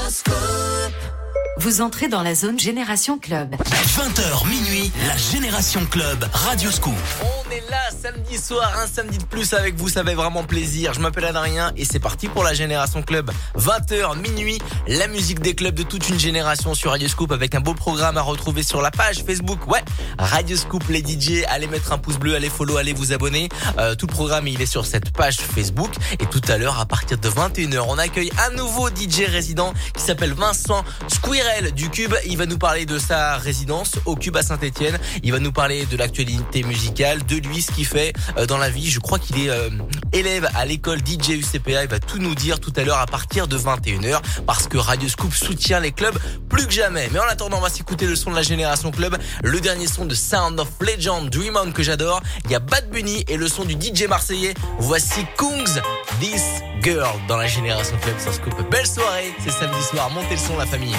Vous entrez dans la zone Génération Club. 20h minuit, la Génération Club, Radio Scoop. On est là samedi soir, un samedi de plus avec vous, ça fait vraiment plaisir. Je m'appelle Adrien et c'est parti pour la Génération Club. 20h minuit, la musique des clubs de toute une génération sur Radio Scoop avec un beau programme à retrouver sur la page Facebook. Ouais, Radio Scoop, les DJ, allez mettre un pouce bleu, allez follow, allez vous abonner. Tout le programme, il est sur cette page Facebook. Et tout à l'heure, à partir de 21h, on accueille un nouveau DJ résident qui s'appelle Vincent Squirrel du Cube. Il va nous parler de sa résidence au Cube à Saint-Etienne. Il va nous parler de l'actualité musicale, de lui, ce qu'il fait dans la vie. Je crois qu'il est élève à l'école DJ UCPA. Il va tout nous dire tout à l'heure à partir de 21h parce que Radio Scoop soutient les clubs plus que jamais. Mais en attendant, on va s'écouter le son de la Génération Club, le dernier son de Sound of Legend, Dream On que j'adore. Il y a Bad Bunny et le son du DJ marseillais. Voici Kungs, This Girl dans la Génération Club sur Scoop. Belle soirée, c'est samedi soir. Montez le son, la famille.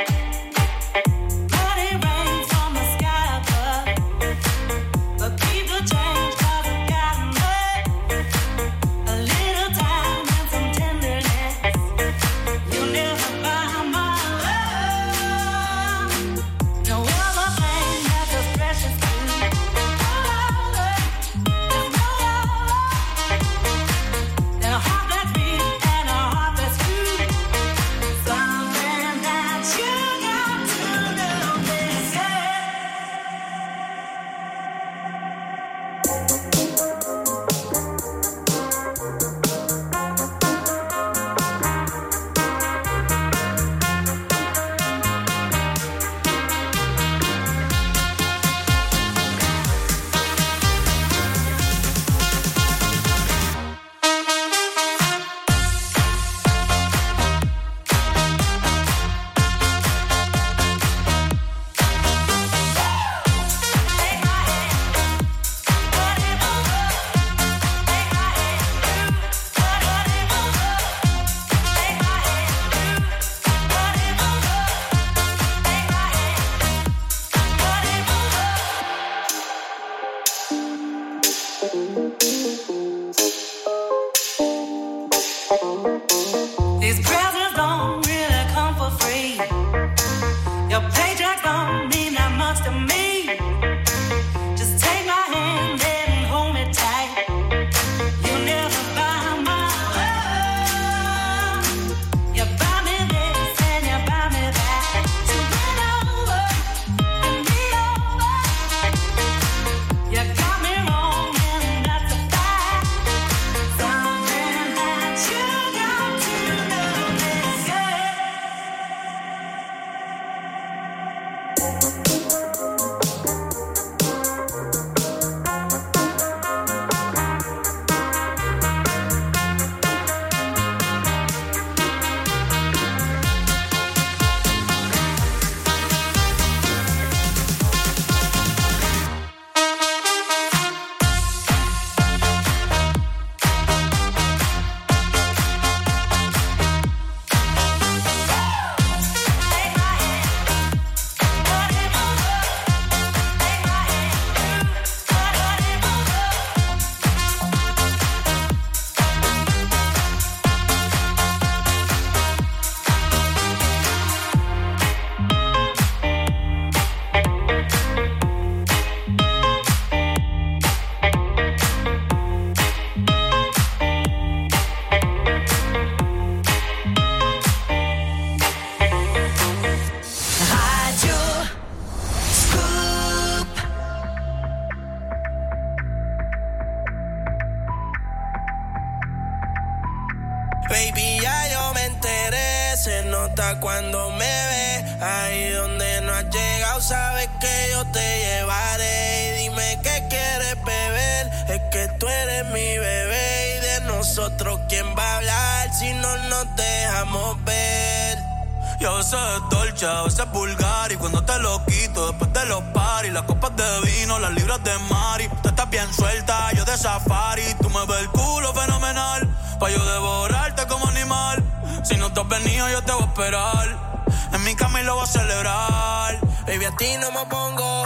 Baby, ya yo me enteré, se nota cuando me ve. Ahí donde no has llegado, sabes que yo te llevaré. Y dime qué quieres beber, es que tú eres mi bebé. Y de nosotros, ¿quién va a hablar si no nos dejamos ver? Yo a veces es dolce, a veces es vulgar. Y cuando te lo quito, después de los paris, las copas de vino, las libras de mari. Tú estás bien suelta, yo de safari. Tú me ves el culo fenomenal, pa' yo devorarte como animal. Si no te has venido, yo te voy a esperar. En mi cama y lo voy a celebrar. Baby, a ti no me pongo,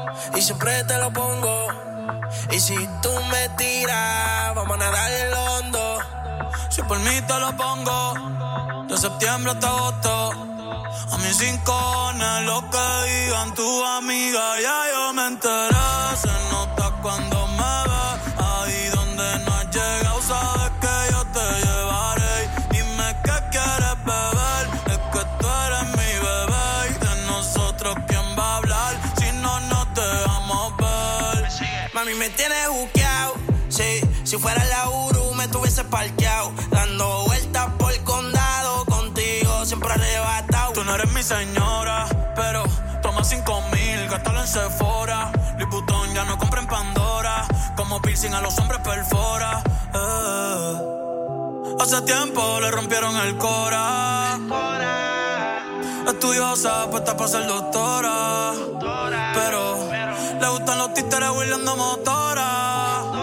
y siempre te lo pongo. Y si tú me tiras, vamos a nadar en el hondo. Si por mí te lo pongo, de septiembre hasta agosto. A mis rincones, lo que digan tu amiga, ya yo me enteré. Se nota cuando me ves, ahí donde no has llegado, sabes que yo te llevaré. Dime qué quieres beber, es que tú eres mi bebé. Y de nosotros, ¿quién va a hablar? Si no nos dejamos ver. Mami, me tienes buqueado, sí. Si fuera la Uru, me tuviese parqueado. Dando vueltas por el condado, contigo siempre arrebatado. Tú no eres mi señora, pero toma 5,000, gástalo en Sephora. Louis Vuitton ya no compra en Pandora. Como piercing a los hombres perfora. Hace tiempo le rompieron el cora. Estudiosa, puesta para ser doctora. Pero le gustan los títeres huirleando motora.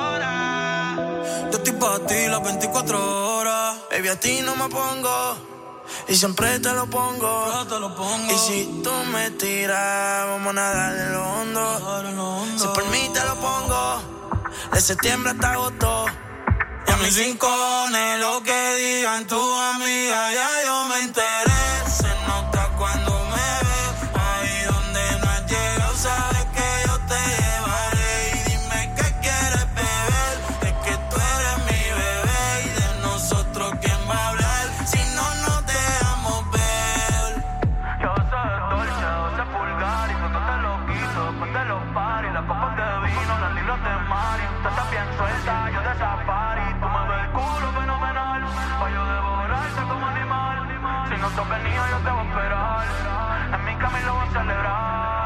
Yo estoy pa' ti las 24 horas. Baby, a ti no me pongo y siempre te lo pongo. Y si tú me tiras, vamos a nadar en lo hondo. Si por mí te lo pongo, de septiembre hasta agosto. Y a mis rincones, lo que digan tu amiga, ya yo me enteré. Se nota cuando me ves, ahí donde no has llegado, sabes que yo te llevaré. Y dime qué quieres beber, es que tú eres mi bebé. Y de nosotros, ¿quién va a hablar? Si no nos dejamos ver. Yo soy dolce, yo soy vulgar, y cuando te lo quito, después de los paris, las copas de vino, las libras de Mari. Tú estás bien suelta, yo de safari. Tú me ves el culo fenomenal, pa' yo devorarte como animal. Si no sos venido, yo te voy a esperar, en mi cama y lo voy a celebrar.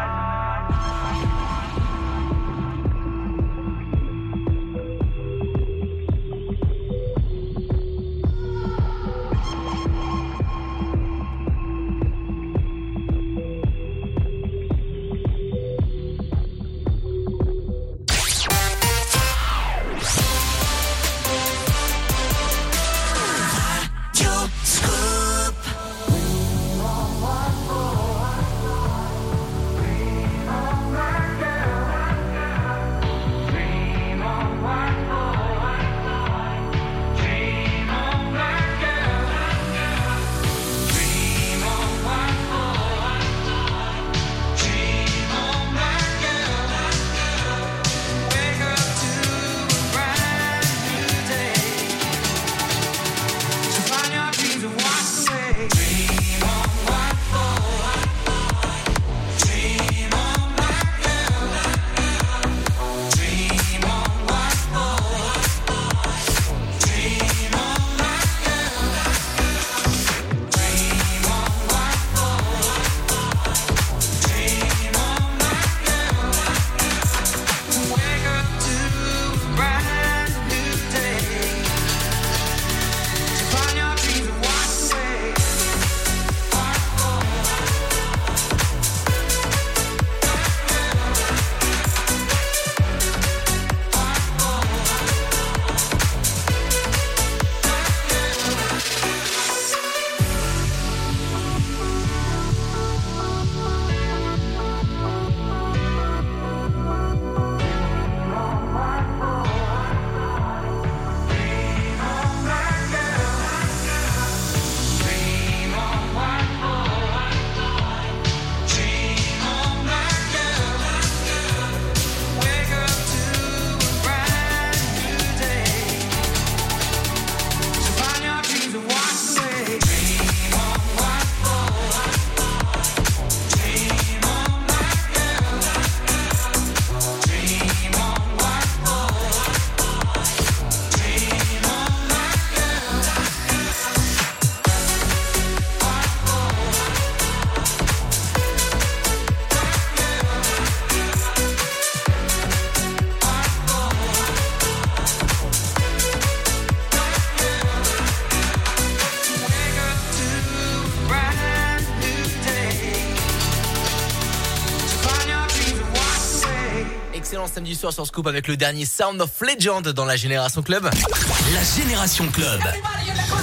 Samedi soir sur Scoop avec le dernier Sound of Legend dans la Génération Club. La Génération Club.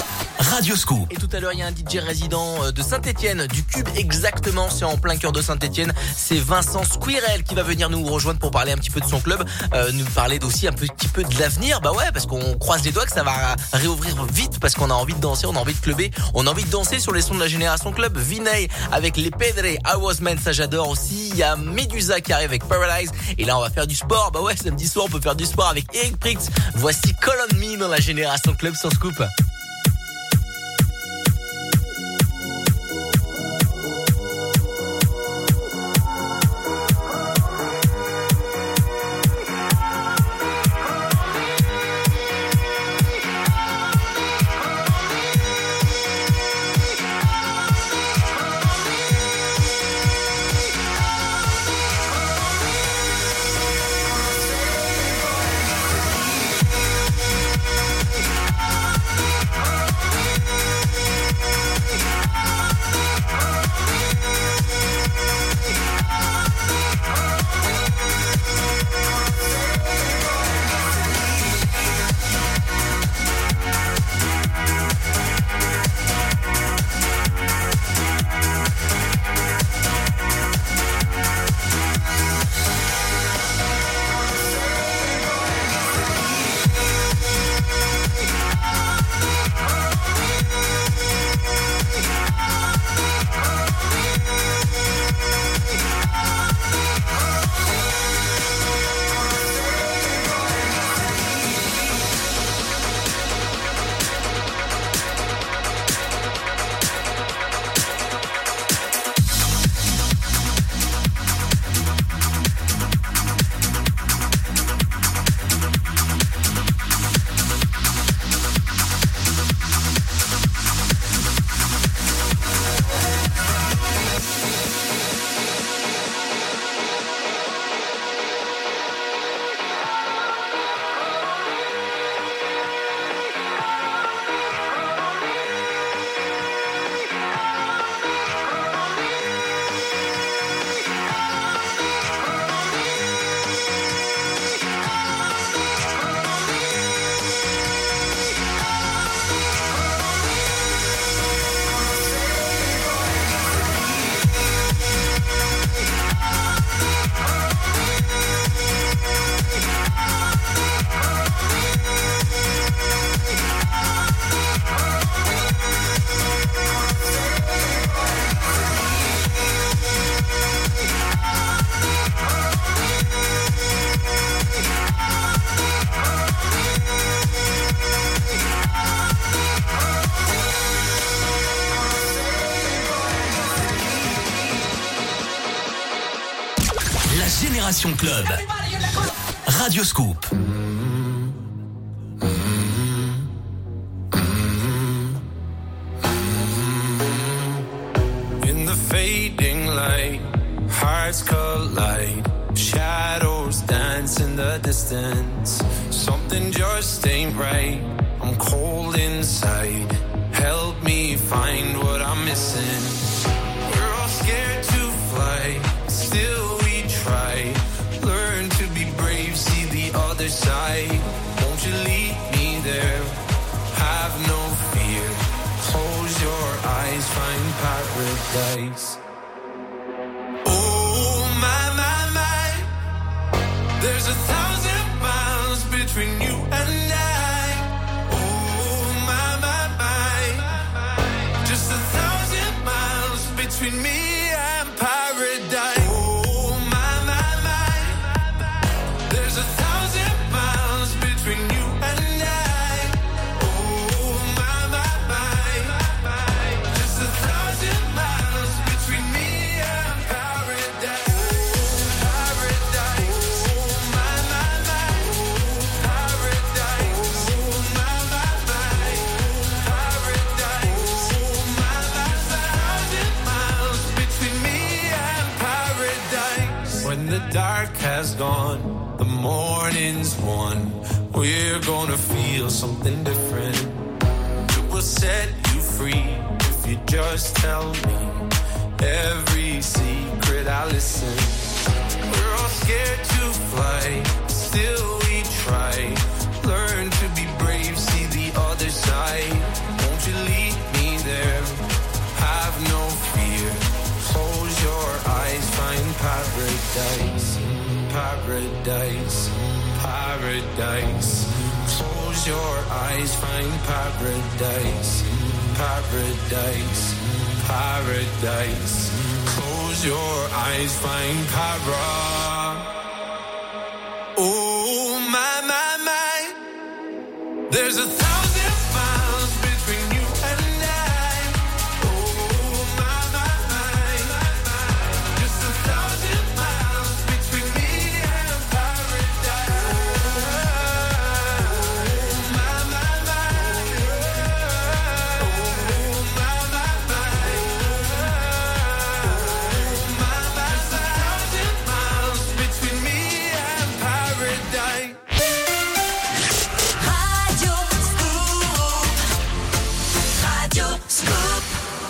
Radio Scoop. Et tout à l'heure, il y a un DJ résident de Saint-Etienne, du Cube exactement, c'est en plein cœur de Saint-Etienne. C'est Vincent Squirrel qui va venir nous rejoindre pour parler un petit peu de son club, nous parler aussi un petit peu de l'avenir. Bah ouais, parce qu'on croise les doigts que ça va réouvrir vite, parce qu'on a envie de danser, on a envie de clubber, on a envie de danser sur les sons de la Génération Club. Vinay avec les Pedre, I Was Man, ça j'adore aussi. Il y a Medusa qui arrive avec Paralyze. Et là, on va faire du sport. Bah ouais, samedi soir, on peut faire du sport avec Eric Prix. Voici Call on Me dans la Génération Club sur Scoop. Génération Club. Radio Scoop. In the fading light, hearts collide. Shadows dance in the distance. Something just ain't right. I'm cold inside. Help me find what I'm missing. We're all scared to fly. Still we try. Learn to be brave, see the other side. Won't you lead me there? Have no fear. Close your eyes, find paradise. Oh my, my, my. There's 1,000 miles between you and I. Oh my, my, my. Just 1,000 miles between me and paradise. Dark has gone, the morning's won. We're gonna feel something different. It will set you free if you just tell me every secret I listen. We're all scared to fly, still we try. Learn to be brave, see the other side. Won't won't you lead me there? Have no fear. Close your eyes, find paradise. Paradise, paradise. Close your eyes, find paradise. Paradise, paradise. Close your eyes, find paradise. Oh my, my, my. There's 1,000 miles between you and I. Oh my, my, my. Just 1,000 miles between me and paradise. Oh my, my, my. Oh my, my, my. Oh my, my, my. 1,000 miles between me and paradise. Radio Scoop.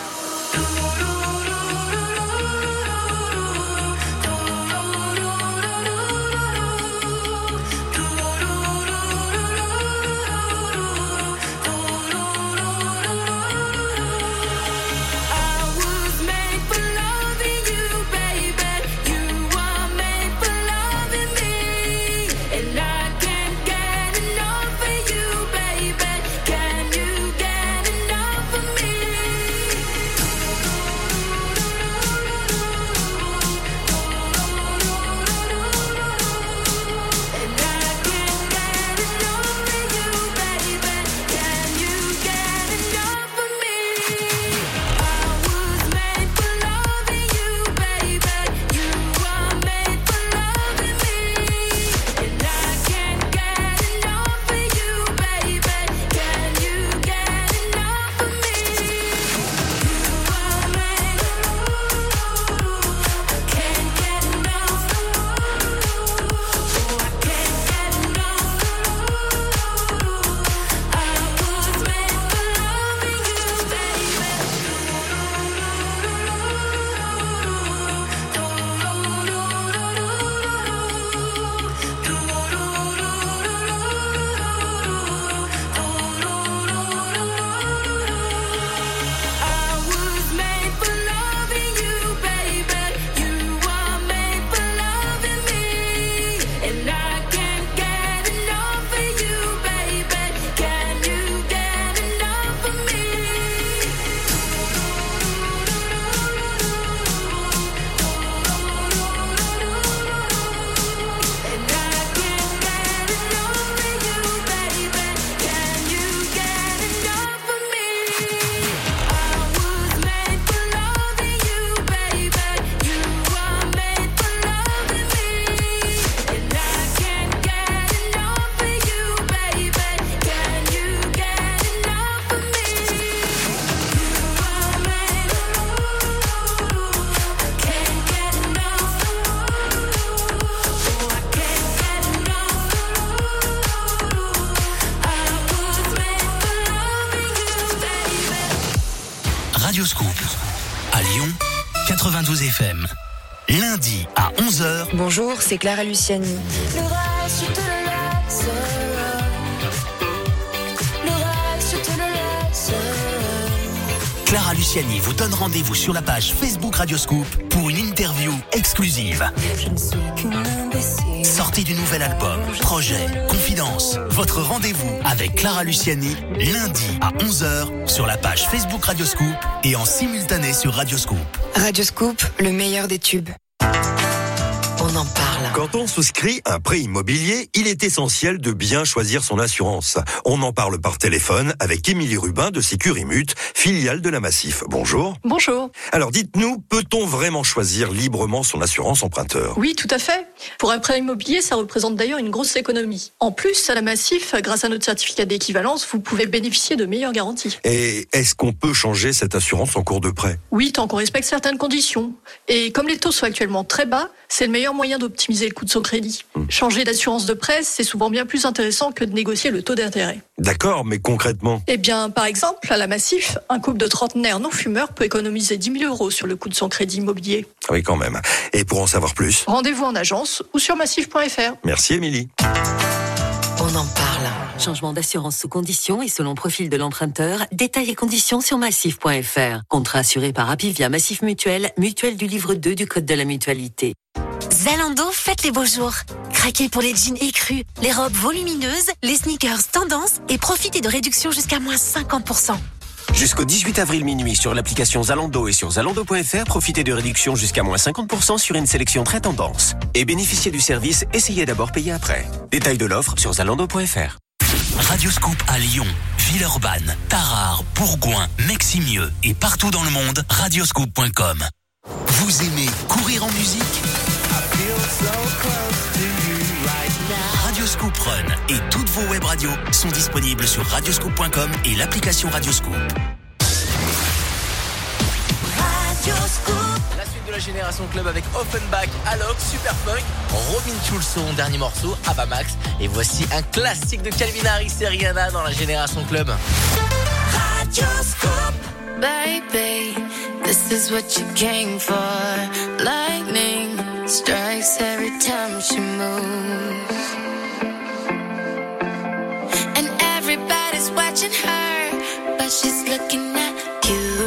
Radio Scoop. À Lyon, 92 FM. Lundi à 11h. Bonjour, c'est Clara Luciani. Le reste, je te le laisse. Le reste, je te le laisse. Clara Luciani vous donne rendez-vous sur la page Facebook Radio Scoop pour une interview exclusive. Je ne suis qu'une imbécile. Sortie du nouvel album, projet, confidence. Votre rendez-vous avec Clara Luciani, lundi à 11h sur la page Facebook Radio Scoop et en simultané sur Radio Scoop. Radio Scoop, le meilleur des tubes. On en parle. Quand on souscrit un prêt immobilier, il est essentiel de bien choisir son assurance. On en parle par téléphone avec Émilie Rubin de Sécurimut, filiale de la Massif. Bonjour. Bonjour. Alors dites-nous, peut-on vraiment choisir librement son assurance emprunteur ? Oui, tout à fait. Pour un prêt immobilier, ça représente d'ailleurs une grosse économie. En plus, à la Massif, grâce à notre certificat d'équivalence, vous pouvez bénéficier de meilleures garanties. Et est-ce qu'on peut changer cette assurance en cours de prêt ? Oui, tant qu'on respecte certaines conditions. Et comme les taux sont actuellement très bas, c'est le meilleur moyen d'optimiser le coût de son crédit. Changer d'assurance de prêt, c'est souvent bien plus intéressant que de négocier le taux d'intérêt. D'accord, mais concrètement ? Eh bien, par exemple, à la Massif, un couple de trentenaires non-fumeurs peut économiser 10 000 € sur le coût de son crédit immobilier. Oui, quand même. Et pour en savoir plus ? Rendez-vous en agence ou sur massif.fr. Merci, Émilie. on en parle. Changement d'assurance sous conditions et selon profil de l'emprunteur. Détails et conditions sur massif.fr. Contrat assuré par Apivia Massif Mutuel, mutuelle du livre 2 du Code de la mutualité. Zalando, faites les beaux jours. Craquez pour les jeans écrus, les robes volumineuses, les sneakers tendance et profitez de réductions jusqu'à moins 50%. Jusqu'au 18 avril minuit sur l'application Zalando et sur Zalando.fr, profitez de réductions jusqu'à moins 50% sur une sélection très tendance. Et bénéficiez du service, essayez d'abord, payez après. Détails de l'offre sur Zalando.fr. Radioscoop à Lyon, Villeurbanne, Tarare, Bourgoin, Meximieux et partout dans le monde, radioscoop.com. Vous aimez courir en musique ? Radioscoop Run et toutes vos web radios sont disponibles sur radioscoop.com et l'application Radioscoop. La suite de la Génération Club avec Offenbach, Alok, Superfunk, Robin Schulz, son dernier morceau, Abba Max. Et voici un classique de Calvin Harris et Rihanna dans la Génération Club. Radioscoop. Baby, this is what you came for. Lightning strikes every time she moves. And everybody's watching her, but she's looking at you.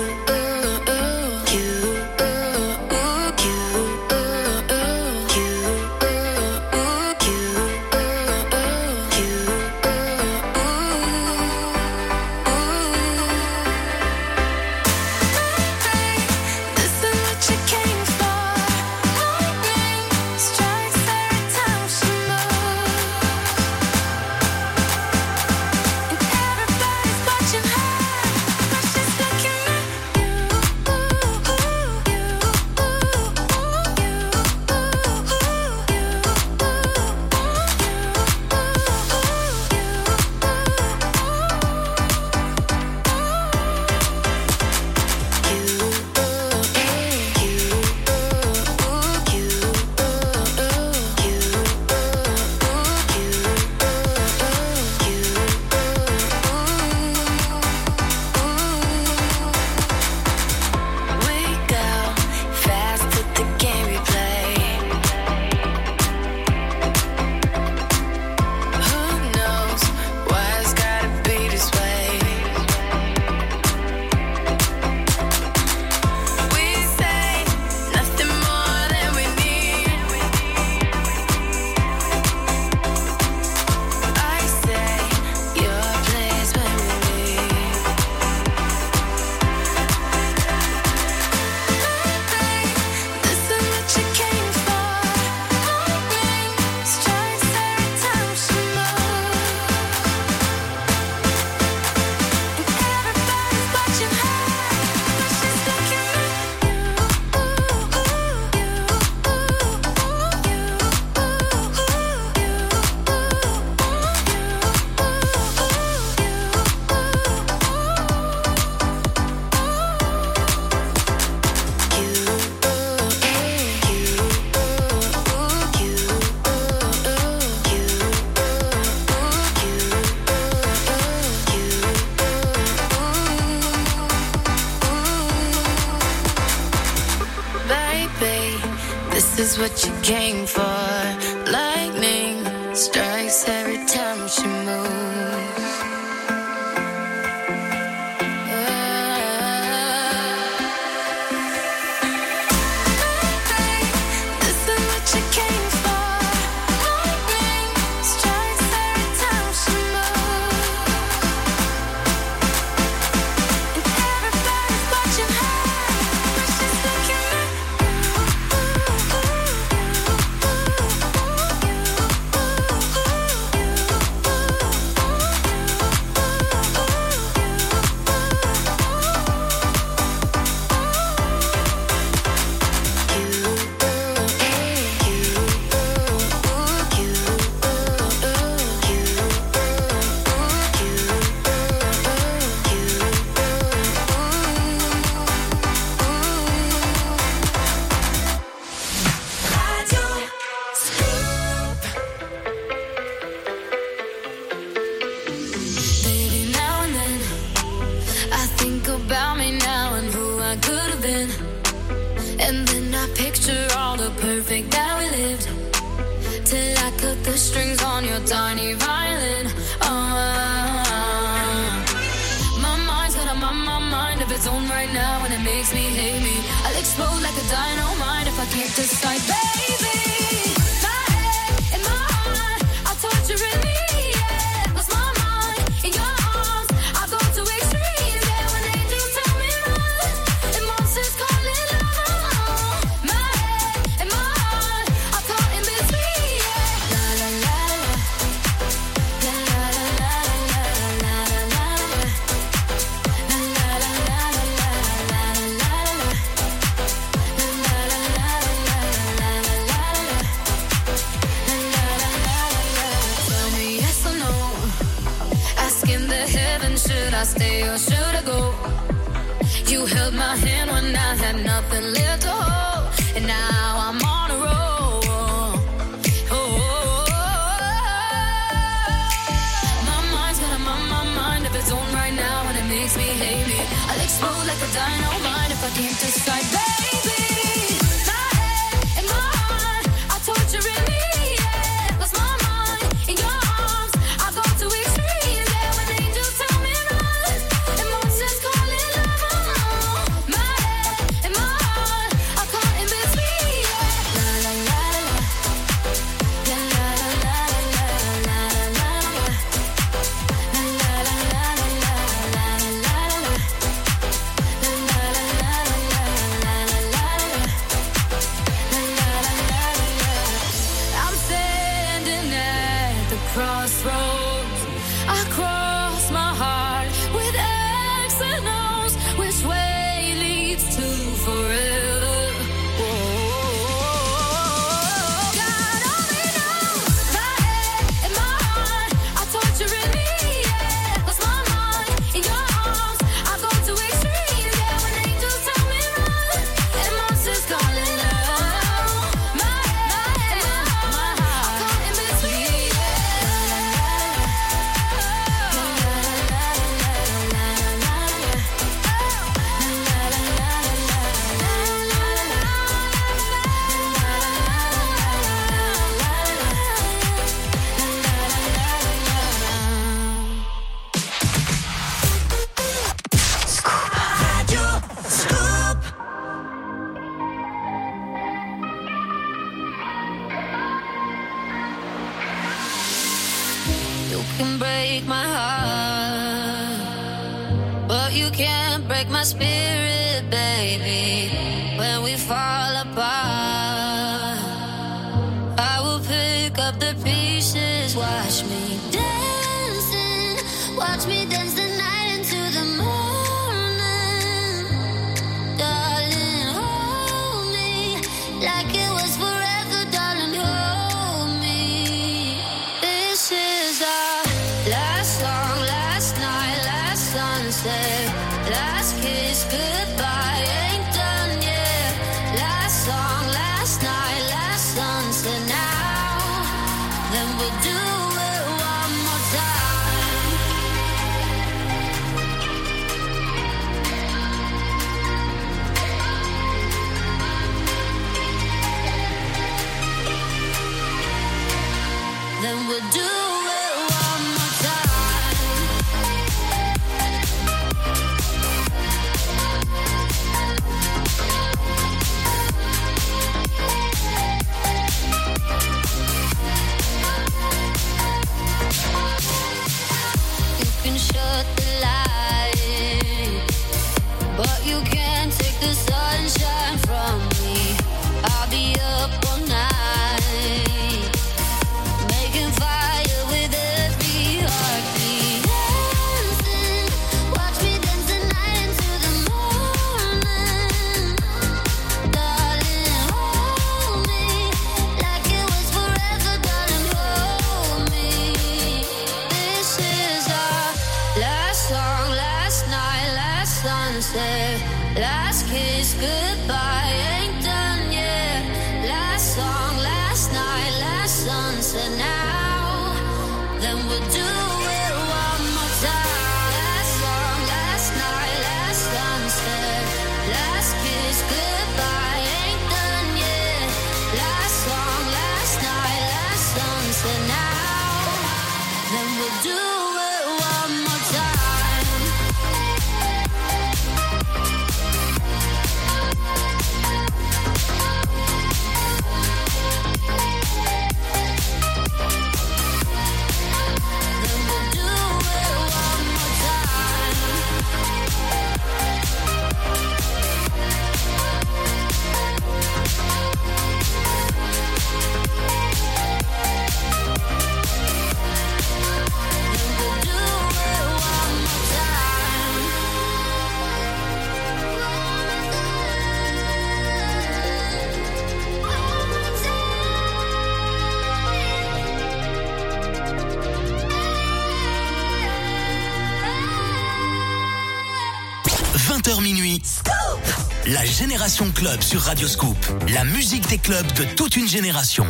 This is what you came for. Lightning strikes every time she moves. This is what you came for. Lightning strikes every time she moves. And everybody's watching her, but she's looking at Baby, now and then I think about me now and who I could have been. And then I picture all the perfect that we lived till I cut the the strings on your tiny violin. My mind's got a mind of its own right now, and it makes me hate me. I'll explode like a dynamite if I can't decide, baby. My head and my heart are torturing me. Yeah, lost my mind in your arms. I go to extremes. Yeah, when angels tell me run, and monsters call it love. My head and my heart are caught in between. Yeah, la la la la, la la la la la la la la. Should I stay or should I go? You held my hand when I had nothing left to hold, and now I'm on a roll. My mind's got a mind of its own right now, and it makes me hate me. I'll explode like a dynamite if I can't decide, baby. My head and my heart are torturing me. Yeah, lost my mind in your arms. I go to extremes. Yeah, when angels tell me run, and monsters call it love. My head and my heart are caught in between. Yeah, la la la la, la la la la la la la la, la la la la la la la la. I'm standing at the crossroads. I cross my heart with X and O's. Which way leads to forever? God only knows. My head and my heart are torturing me. Yeah, lost my mind in your arms. I go to extremes. Yeah, when angels tell me run, and monsters call it love. My head and my heart are caught in between. You can break my heart, but you can't break my spirit, baby. When we fall apart, I will pick up the pieces. Watch me dancing, watch me dance the night into the morning. Darling, hold me like it was forever, darling, hold me. This is our last song, last night, last sunset, last kiss, goodbye, ain't done yet. Last song, last night, last sunset, now, then we'll do it one more time. Then we'll do it one more time. You can shut the light, but you can't take the sunshine from me. I'll be up all night, making fire with every heartbeat. Dancing, watch me dance the night into the morning. Darling, hold me like it was forever, darling, hold me. This is our last song, last night, last sunset, last kiss, goodbye, ain't done yet. Last song, last night, last sunset, now, then we'll do it one more time. Last song, last night, last sunset, last kiss, goodbye, ain't done yet. Last song, last night, last sunset, now. 20h minuit. La Génération Club sur Radio Scoop. La musique des clubs de toute une génération.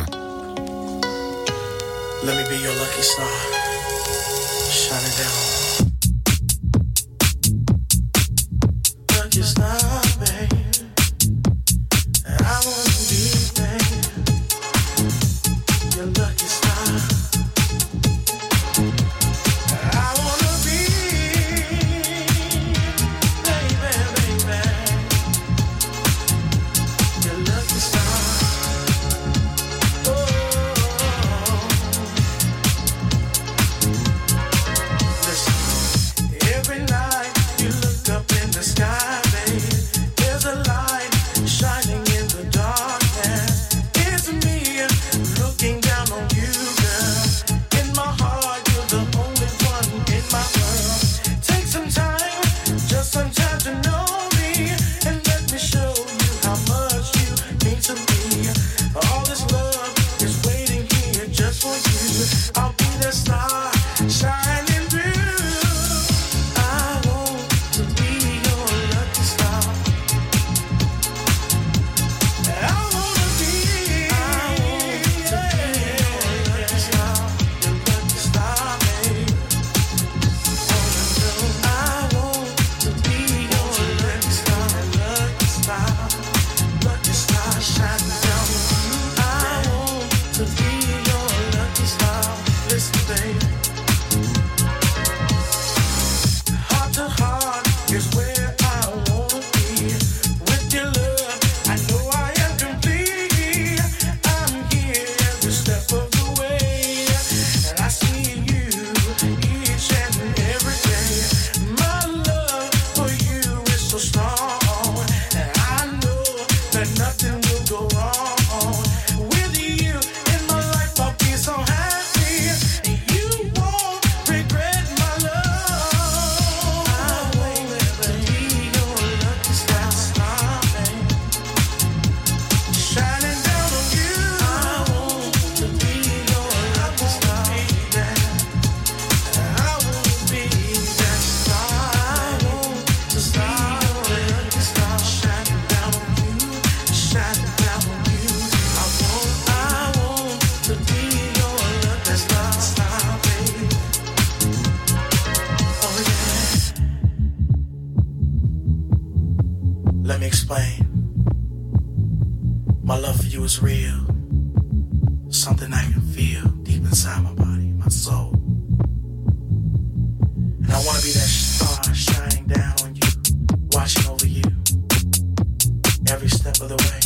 Let me be your lucky star. Shine it down. Lucky star, babe. I wanna be, babe, your lucky star. I wanna be, baby, your lucky star. Every night you look up in the sky, babe, there's a light shining in the darkness. It's me looking down on you, girl. In my heart, you're the only one in my world. Take some time, just some time to know me, and let me show you how much you mean to me. All this love is waiting here just for you. I'll be the star shining through. Let me explain. My love for you is real. Something I can feel deep inside my body, my soul. And I want to be that star shining down on you, watching over you every step of the way.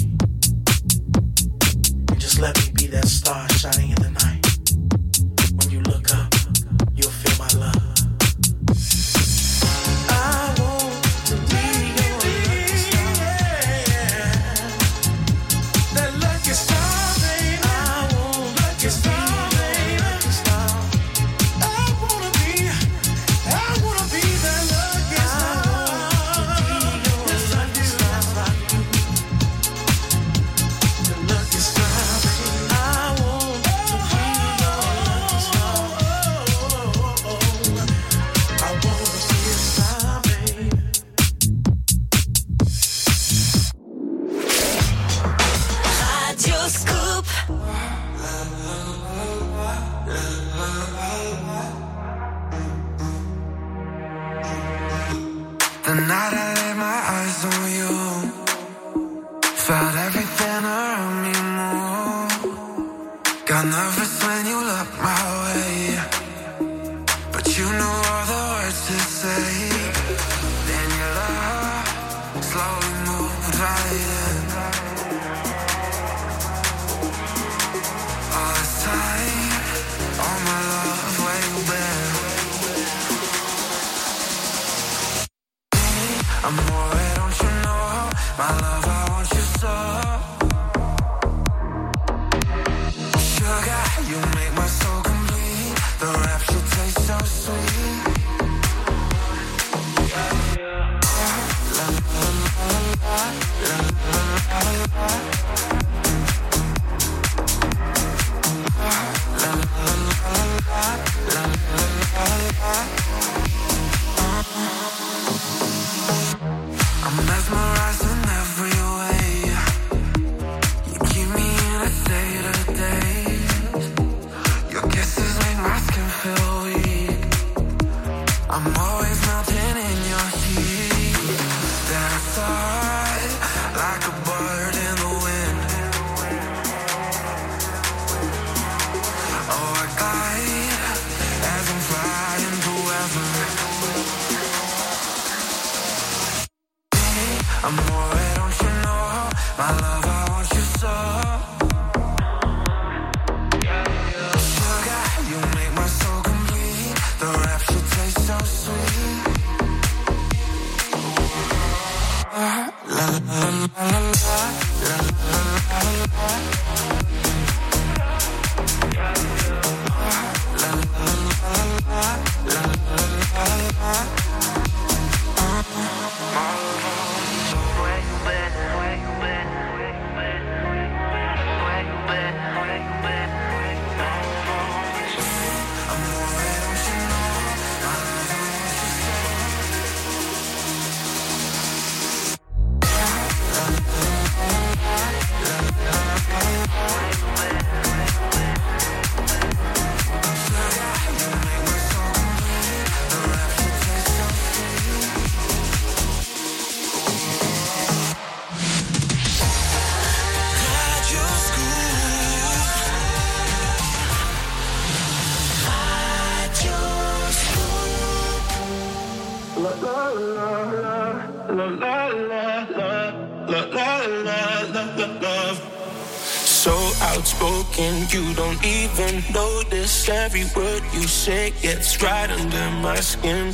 And just let me be that star shining in the night. When you look up, you'll feel my love. The night I laid my eyes on you, felt everything around me move. Got nervous when you looked my way, but you knew all the words to say. Then your love slowly moved right in. All this time, all my love, where you been? Amore, don't you know? My love, I want you so. Sugar, you make my soul complete. love, I want you so. Sugar, you make my soul complete. The rapture tastes so sweet. La la la la la la So outspoken, you don't even notice. Every word you say gets right under my skin.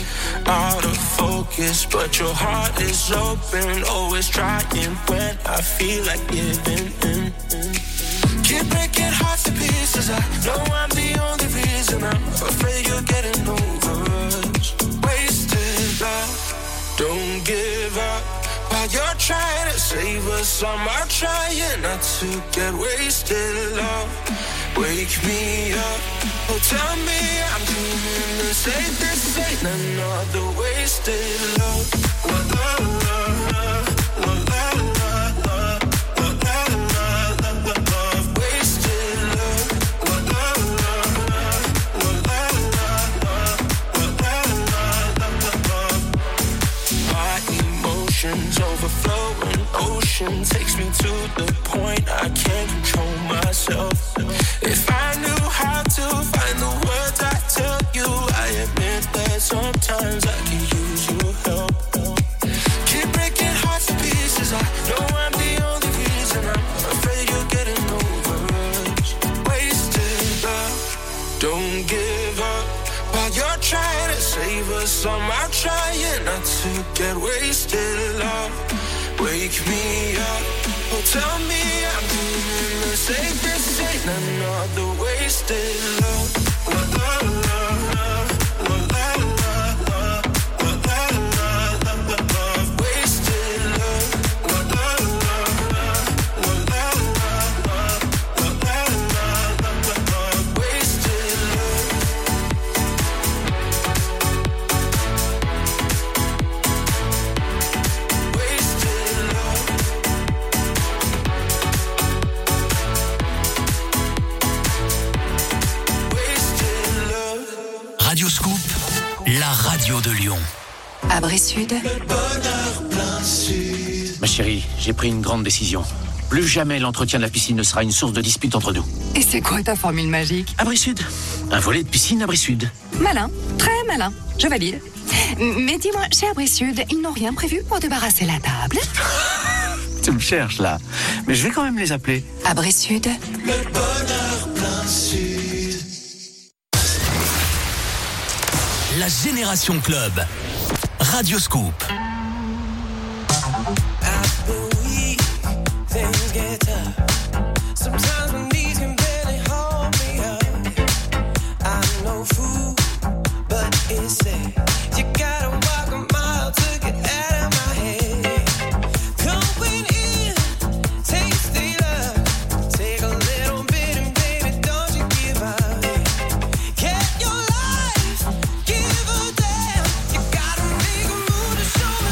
Out of focus, but your heart is open. Always trying when I feel like giving in. Keep breaking hearts to pieces. I know I'm the only reason. I'm afraid you're getting over us. Wasted love, don't give up. While you're trying to save us, I'm out trying not to get wasted. Love, wake me up. Oh, tell me I'm dreaming this ain't another wasted love. Love, love, love, love, love, love, love, love, love, love, wasted love. Love, love, love, love, love, love, love, love, love. My emotions overflowing, ocean takes me to the point I can't control myself. If I knew how to find the words I tell you, I admit that sometimes I can use your help. Keep breaking hearts to pieces. I know I'm the only reason. I'm afraid you're getting over us. Wasted love, don't give up. While you're trying to save us, I'm out trying not to get wasted. Love, wake me up. Oh, tell me I'm dreaming the safest ain't another wasted love. Love, love, love, love, love, love, love, love, love, love, love, wasted love. Love, love, love, love, love, love, love, love, love, love, wasted love. Radio Scoop, la radio de Lyon. À Bressude. Ma chérie, j'ai pris une grande décision. Plus jamais l'entretien de la piscine ne sera une source de dispute entre nous. Et c'est quoi ta formule magique? Abri-Sud. Un volet de piscine Abri-Sud. Malin, très malin. Je valide. Mais dis-moi, chez Abri-Sud, ils n'ont rien prévu pour débarrasser la table? Tu me cherches là. Mais je vais quand même les appeler. Abri-Sud. Le bonheur plein sud. La Génération Club. Radio Scoop. Things get tough. Sometimes my knees can barely hold me up. I'm no fool, but it's sad. You gotta walk a mile to get out of my head. Going in, taste the love. Take a little bit and baby, don't you give up. Get your life, give a damn. You gotta make a move to show me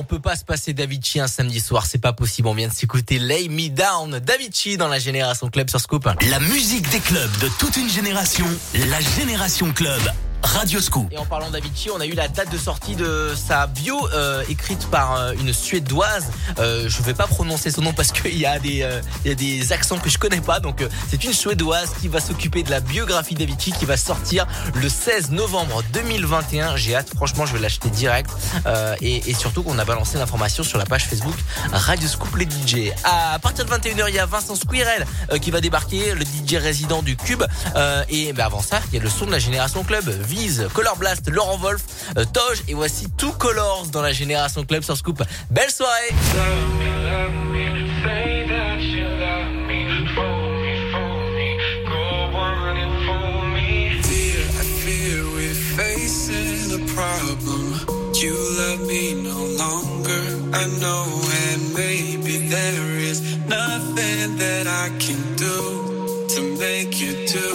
peut pas se passer d'Avicii un samedi soir, c'est pas possible. On vient de s'écouter Lay Me Down d'Avicii dans la Génération Club sur Scoop. La musique des clubs de toute une génération, la Génération Club. Radio Scoop. Et en parlant d'Avicii, on a eu la date de sortie de sa bio écrite par une Suédoise. Je vais pas prononcer son nom parce qu'il y a des accents que je connais pas. Donc c'est une Suédoise qui va s'occuper de la biographie d'Avicii qui va sortir le 16 novembre 2021. J'ai hâte, franchement, je vais l'acheter direct. Et surtout qu'on a balancé l'information sur la page Facebook Radio Scoop les DJ. À partir de 21h, il y a Vincent Squirrel qui va débarquer, le DJ résident du Cube. Et avant ça, il y a le son de la Génération Club. Viz, Color Blast, Laurent Wolf, Toge et voici Two Colors dans la Génération Club sur Scoop. Belle soirée. You love me no longer, I know, and maybe there is nothing that I can do to make you do.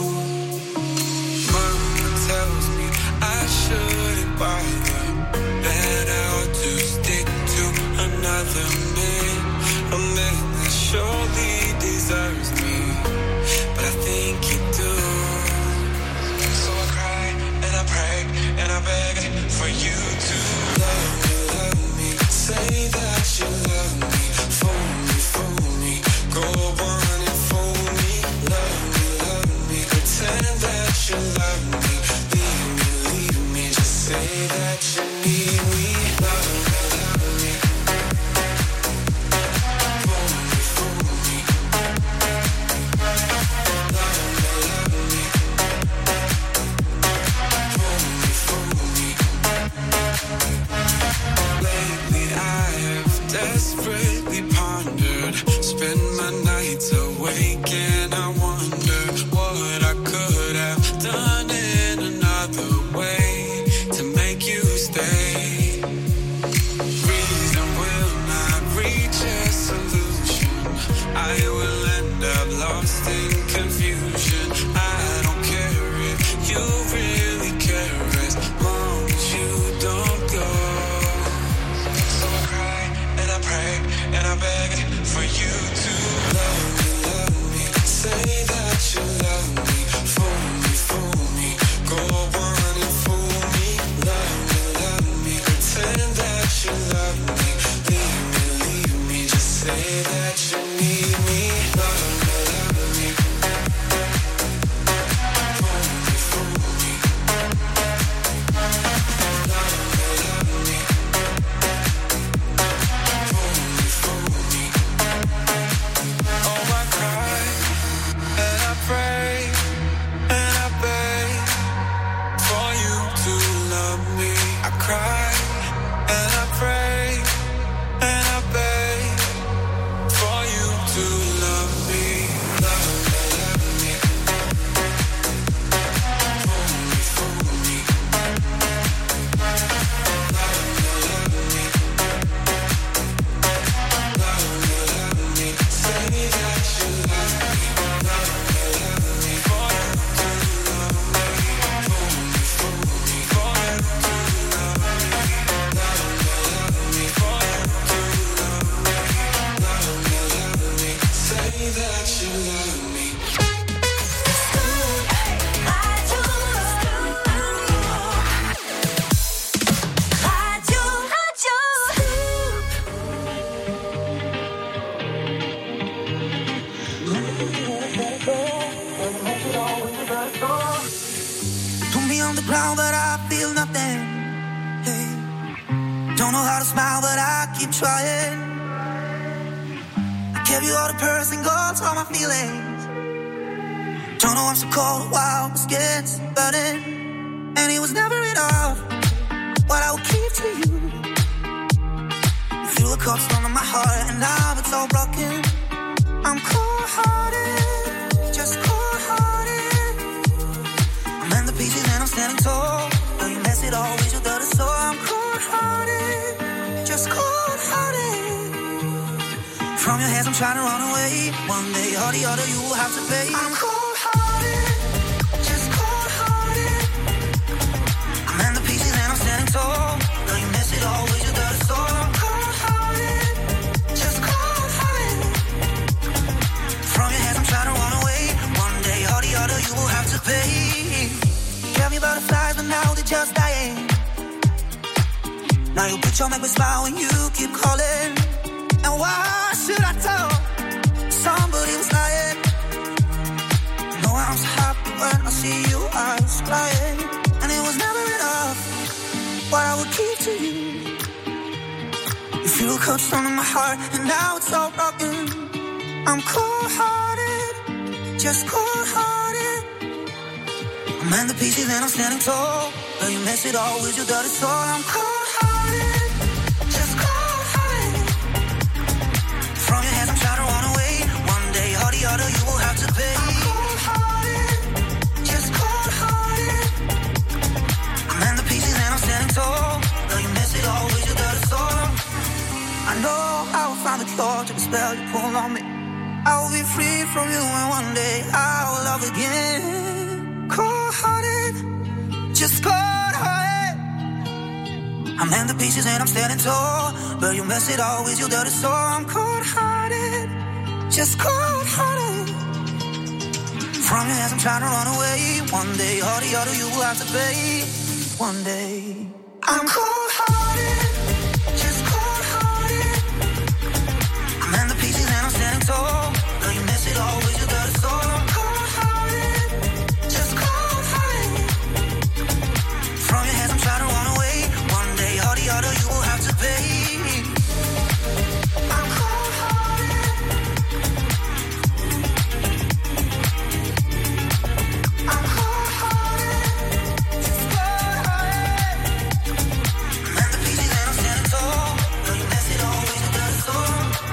Tells me I shouldn't bother, that I ought to stick to another man, a man that surely deserves me, but I think you do. So I cry and I pray and I beg for you to love me, say that you love me, fool me, go on and fool me, love me, pretend that you love me. Say that you need me, love me, fool me, love me, fool me. Lately I have desperately pondered, spend my nights awake and I wonder what I could have done in another way. Stay. Reason will not reach a solution. I will end up lost in confusion. I don't care if you really care as long as you don't go. So I cry and I pray and I beg for you to love me, say that you love me, fool me, go on and fool me, love me. Pretend that you love me, leave me, just say that you need me, love me, fool me, love me, fool me. Oh, I cry and I pray and I beg for you to love me. I cry and I pray and I beg for you to love me, love me, fool me, love me, say that you love me, for you to love me, fool me, for you to love me, for you to love me, say that you love me. Put me on the ground, but I feel nothing. Hey. Don't know how to smile, but I keep trying. I gave you all the pearls and gold, all my feelings. Don't know I'm so cold, wow, my skin's burning. And it was never enough what I would keep to you. You threw the cups under my heart, and now it's all broken. I'm cold-hearted, just cold-hearted. I'm in the pieces and I'm standing tall. Though you mess it all with your dirty soul. I'm cold-hearted, just cold-hearted. From your hands I'm trying to run away. One day or the other you will have to pay. I'm cold-hearted, just cold-hearted. I'm in the pieces and I'm standing tall. Though you mess it all with your dirty soul. just dying. Now your picture make me smile when you keep calling. And why should I tell somebody was lying? No, I'm so happy when I see you eyes crying. And it was never enough what I would keep to you. You feel cold stone in my heart, and now it's all broken. I'm cold-hearted, just cold-hearted. I'm in the pieces and I'm standing tall, but you mess it all with your dirty soul. I'm cold-hearted, just cold-hearted. From your hands I'm trying to run away. One day or the other you will have to pay. I'm cold-hearted, just cold-hearted. I'm in the pieces and I'm standing tall, but you mess it all with your dirty soul. I know I will find the cure to the spell you pull on me. I will be free from you and one day I will love again. Cold-hearted, just cold-hearted. I'm in the pieces and I'm standing tall, but you mess it all with your dirty soul. I'm cold-hearted, just cold-hearted. From your hands I'm trying to run away. One day or the other you will have to pay. One day I'm cold-hearted, just cold-hearted. I'm in the pieces and I'm standing tall, but you mess it all with your dirty soul. I'm cold-hearted, just cold-hearted. From your hands I'm trying to run away. One day or the other you will have to pay. I'm cold-hearted, I'm cold-hearted, just cold-hearted. I'm in the pieces and I'm standing tall, but you mess it all with your dirty soul.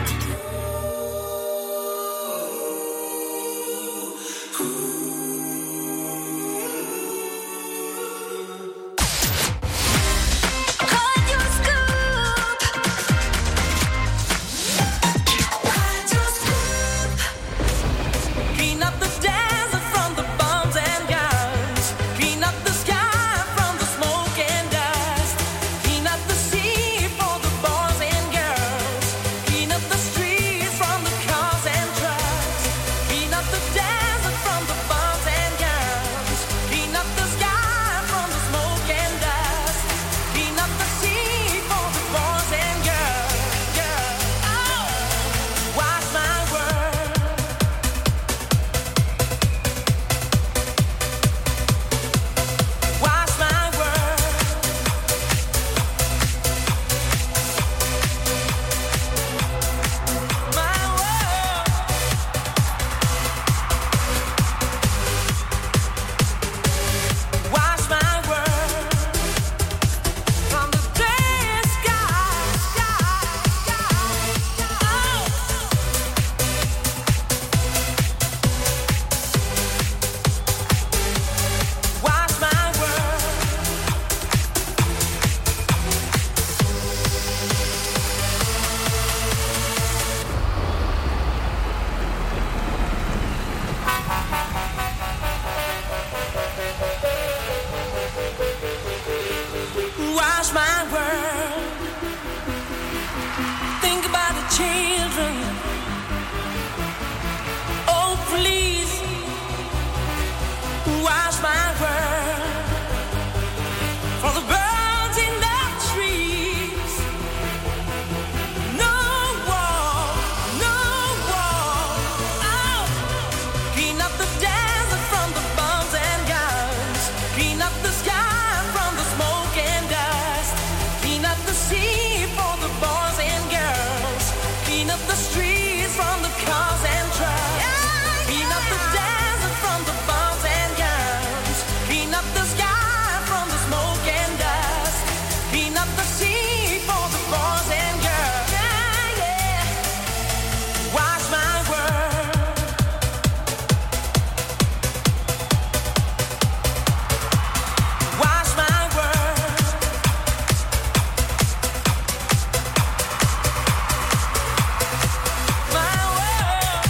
Clean up the desert from the bombs and guns. Clean up the sky from the smoke and dust. Clean up the sea for the boys and girls. Clean up the streets from the cars and trucks. Clean up the desert from the bombs and guns. Clean up the sky from the smoke and dust. Clean up the sea for the boys and girls. Oh, wash my world. Wash my world. My world. Wash my world. From the gray sky. Oh. Wash my world. Wash my world. Think about the children. Oh, please. Wash my world. For the birds in the trees. No war, no war. Oh. Clean up the desert from the bombs and guns. Clean up the sky from the smoke and dust. Clean up the sea for the boys and girls. Clean up the streets from the cars and trucks. Clean up the desert from the bombs and guns. Clean up the sky from the smoke and dust. Clean up the sea for the boys and girls. Yeah, yeah. Wash my world. Wash my world. My world.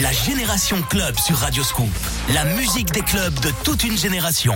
La Génération Club sur Radio Scoop. La musique des clubs de toute une génération.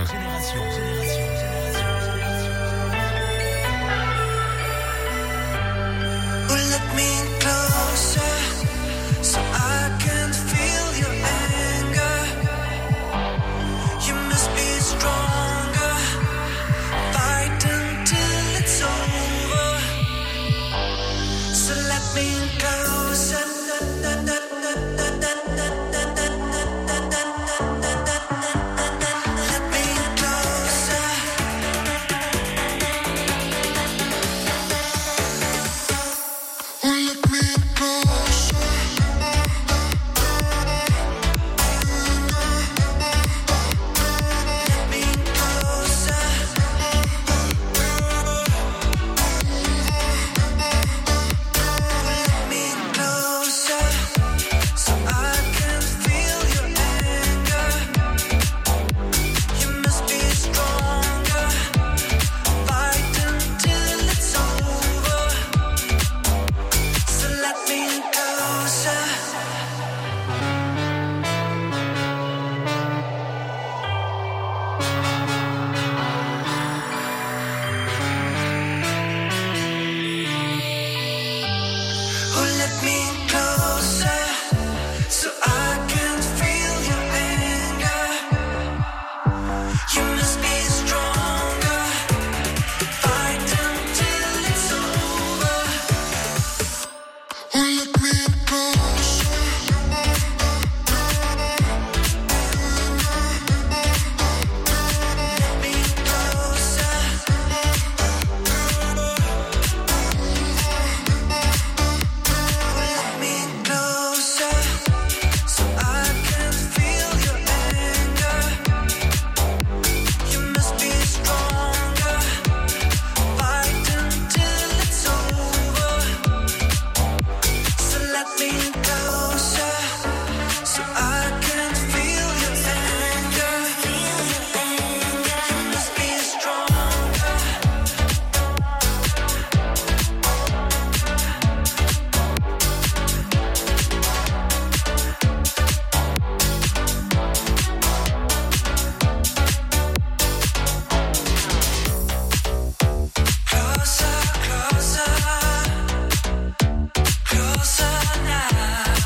Closer now.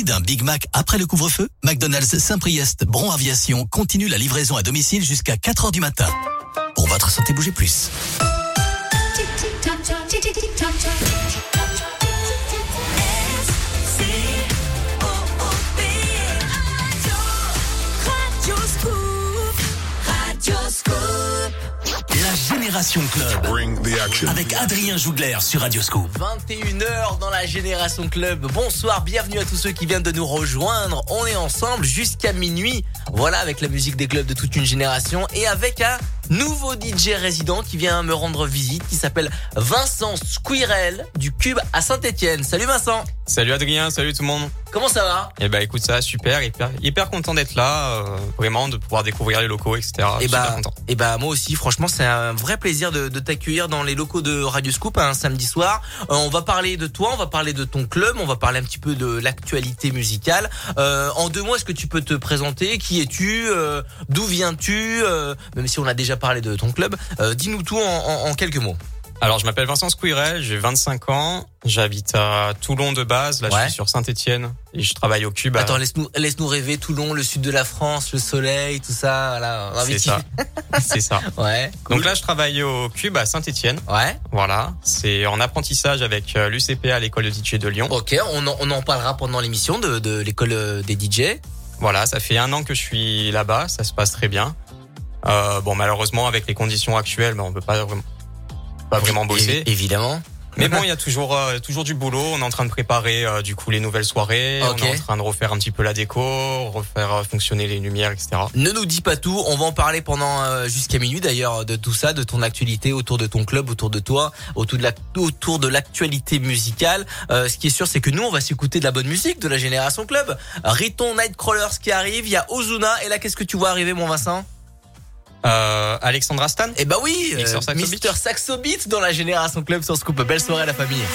envie d'un Big Mac après le couvre-feu? McDonald's Saint-Priest Bron Aviation continue la livraison à domicile jusqu'à 4h du matin. Pour votre santé, bougez plus. La Génération Club avec Adrien Jougler sur Radio Scoop. 21h dans la Génération Club. Bonsoir, bienvenue à tous ceux qui viennent de nous rejoindre. On est ensemble jusqu'à minuit. Voilà, avec la musique des clubs de toute une génération et avec un nouveau DJ résident qui vient me rendre visite, qui s'appelle Vincent Squirrel du Cube à Saint-Etienne. Salut Vincent. Salut Adrien, salut tout le monde. Comment ça va? Eh ben écoute, ça va super, hyper content d'être là, vraiment de pouvoir découvrir les locaux, etc. Et bah moi aussi, franchement c'est un vrai plaisir de t'accueillir dans les locaux de Radio Scoop un samedi soir. On va parler de toi, on va parler de ton club, on va parler un petit peu de l'actualité musicale. En 2 mots, est-ce que tu peux te présenter? Qui es-tu? D'où viens-tu? Même si on a déjà parlé de ton club, dis-nous tout en quelques mots. Alors, je m'appelle Vincent Squirrel, j'ai 25 ans, j'habite à Toulon de base, là je suis sur Saint-Etienne et je travaille au Cube. Attends, laisse-nous rêver, Toulon, le sud de la France, le soleil, tout ça, voilà. C'est ça. C'est ça. Ouais. Cool. Donc là, je travaille au Cube à Saint-Etienne. Ouais. Voilà. C'est en apprentissage avec l'UCPA, l'école de DJ de Lyon. Ok, on en parlera pendant l'émission de l'école des DJ. Voilà, ça fait 1 an que je suis là-bas, ça se passe très bien. Bon, malheureusement, avec les conditions actuelles, on peut pas vraiment bosser. Évidemment. Mais bon, il y a toujours du boulot. On est en train de préparer du coup les nouvelles soirées. Okay. On est en train de refaire un petit peu la déco, refaire fonctionner les lumières, etc. Ne nous dis pas tout. On va en parler pendant jusqu'à minuit d'ailleurs de tout ça, de ton actualité autour de ton club, autour de toi, autour de l'actualité musicale. Ce qui est sûr, c'est que nous, on va s'écouter de la bonne musique de la Génération Club. Riton Nightcrawlers qui arrive. Il y a Ozuna. Et là, qu'est-ce que tu vois arriver, mon Vincent? Alexandra Stan. Eh bah oui, Mr. Saxo Beat dans la Génération Club sur Scoop. Belle soirée à la famille.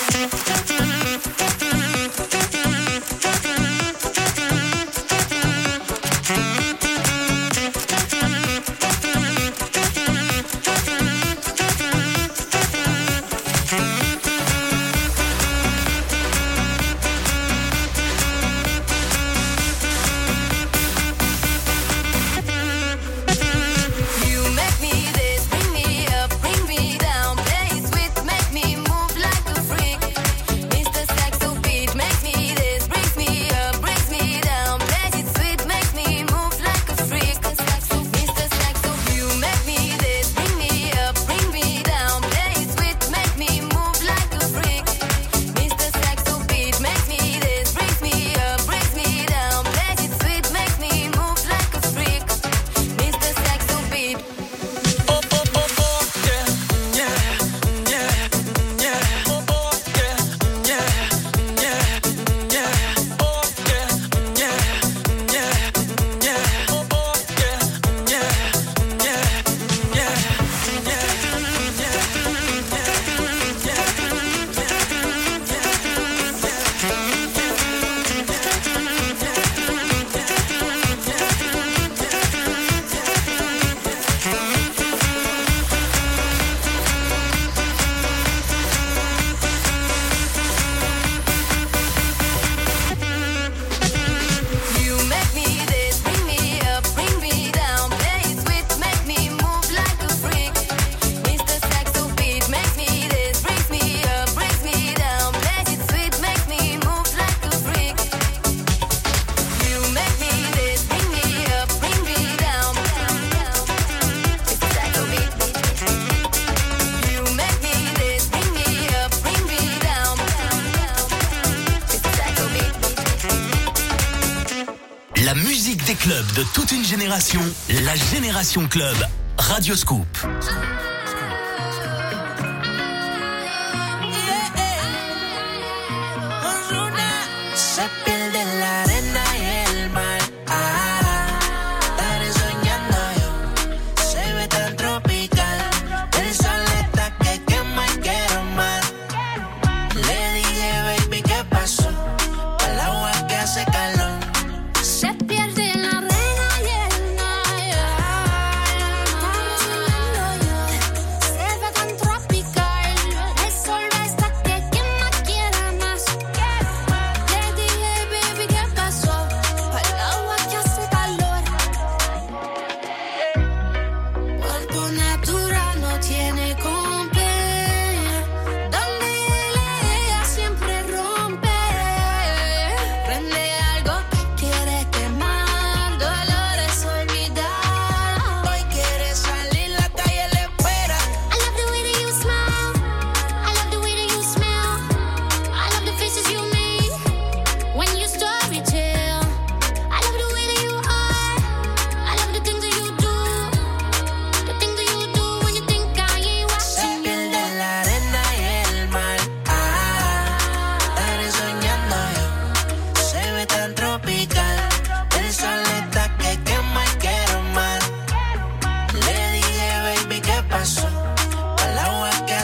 Des clubs de toute une génération, la Génération Club, Radio Scoop.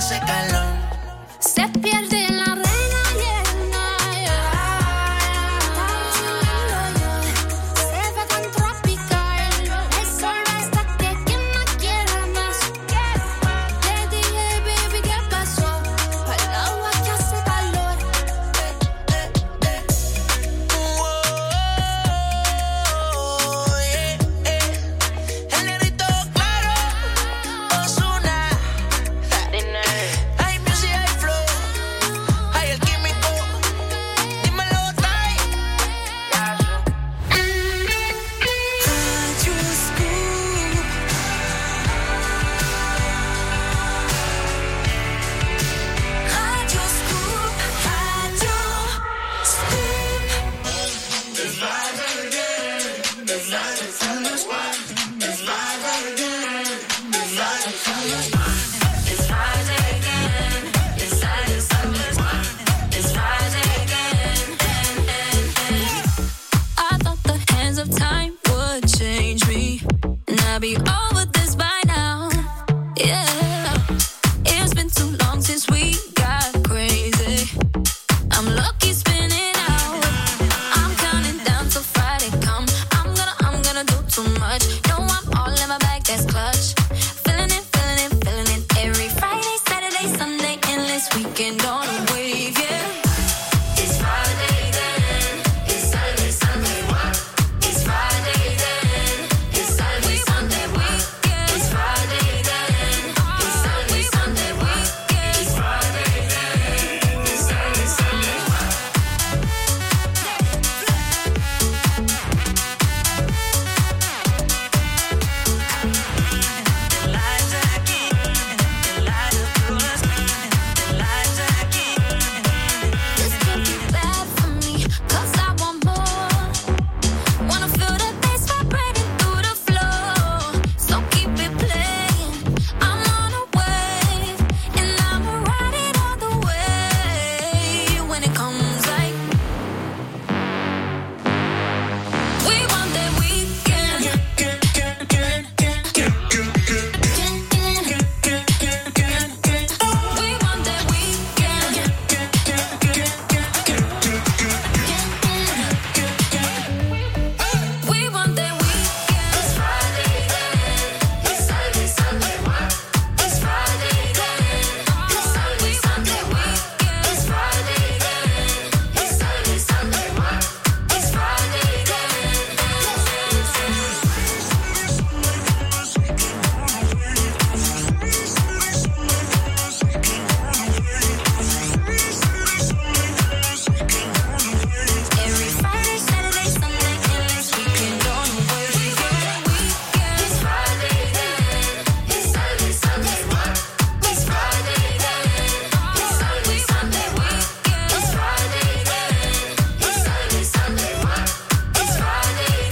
hace calor. Se pierde la reina llena, se ve tan tropical. El sol hasta que quien más quiera más. Le dije, baby, ¿qué pasó? Al agua que hace calor. El negrito claro, Ozuna. Hay music, hay flow, hay el químico. Dímelo, Ty. Radio Scoop. Radio Scoop. Radio Scoop. It's live again. It's live again. It's live again. It's live again. It's live again. It's live again. It's live again. I thought the hands of time would change me, and I'd be over this by now. Yeah, it's been too long since we got crazy. I'm lucky spinning out. I'm counting down till Friday come. I'm gonna do too much. No, I'm all in my bag, that's clutch. Feeling it, feeling it, feeling it. Every Friday, Saturday, Sunday, endless weekend on a wave, yeah. It's Friday then. It's Saturday, Sunday. What? It's Friday then. It's Saturday, Sunday. What? It's Friday then. It's Saturday, Sunday. What? It's Friday then. It's Saturday, Sunday. This could be bad for me, 'cause I want more. Wanna feel the bass vibrating through the floor. So keep it playing. I'm on a wave, and I'ma ride it all the way. When it comes like we want that weekend. We want that weekend. We want that weekend. It's Friday then. It's Saturday, Sunday. What? It's Friday then. It's Saturday, Sunday. What? It's Friday then. It's Saturday, Sunday. What? It's Friday Every Friday, Saturday, Sunday, endless weekend on a wave. It's Friday then. It's Saturday, Sunday. What? It's Friday then. It's Saturday, Sunday. What? It's Friday then. It's Saturday, Sunday. What? It's Friday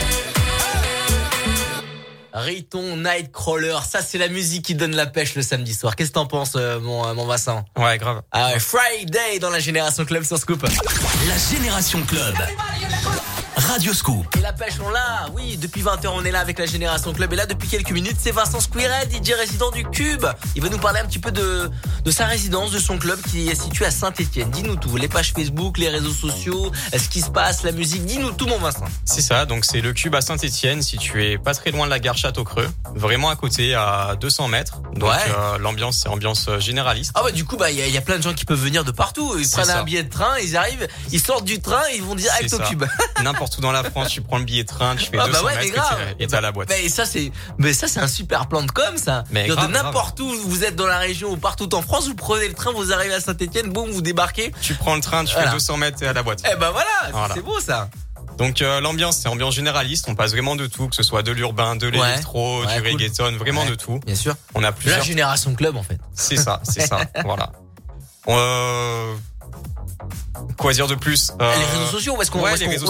then. Riton, Nightcrawler, ça c'est la musique qui donne la pêche le samedi soir. Qu'est-ce que t'en penses, mon Vincent? Ouais, grave. Ah ouais, Friday dans la Génération Club sur Scoop. La Génération Club. Radio Scoop. Et la pêche, on l'a. Oui, depuis 20h, on est là avec la Génération Club. Et là, depuis quelques minutes, c'est Vincent Squirrel, DJ résident du Cube. Il va nous parler un petit peu de sa résidence, de son club qui est situé à Saint-Etienne. Dis-nous tout. Les pages Facebook, les réseaux sociaux, ce qui se passe, la musique. Dis-nous tout, mon Vincent. C'est ça, donc c'est le Cube à Saint-Etienne, situé pas très loin de la gare Château-Creux, vraiment à côté, à 200 mètres. Donc l'ambiance, c'est ambiance généraliste. Ah ouais, du coup, il y a plein de gens qui peuvent venir de partout. Ils prennent un billet de train, ils arrivent, ils sortent du train, ils vont direct au Cube. N'importe où dans la France, tu prends le billet de train, tu fais 200 mètres et t'es à la boîte. Mais ça c'est un super plan de com, ça. Mais de n'importe où vous êtes dans la région ou partout en France, vous prenez le train, vous arrivez à Saint-Etienne, boum, vous débarquez. Tu prends le train, tu fais 200 mètres et à la boîte. Eh ben voilà. C'est beau ça. Donc l'ambiance, c'est ambiance généraliste, on passe vraiment de tout, que ce soit de l'urbain, de l'électro, du reggaeton, vraiment de tout. Bien sûr. On a plusieurs. La Génération Club en fait. C'est ça, voilà. Quoi dire de plus Les réseaux sociaux, où est-ce qu'on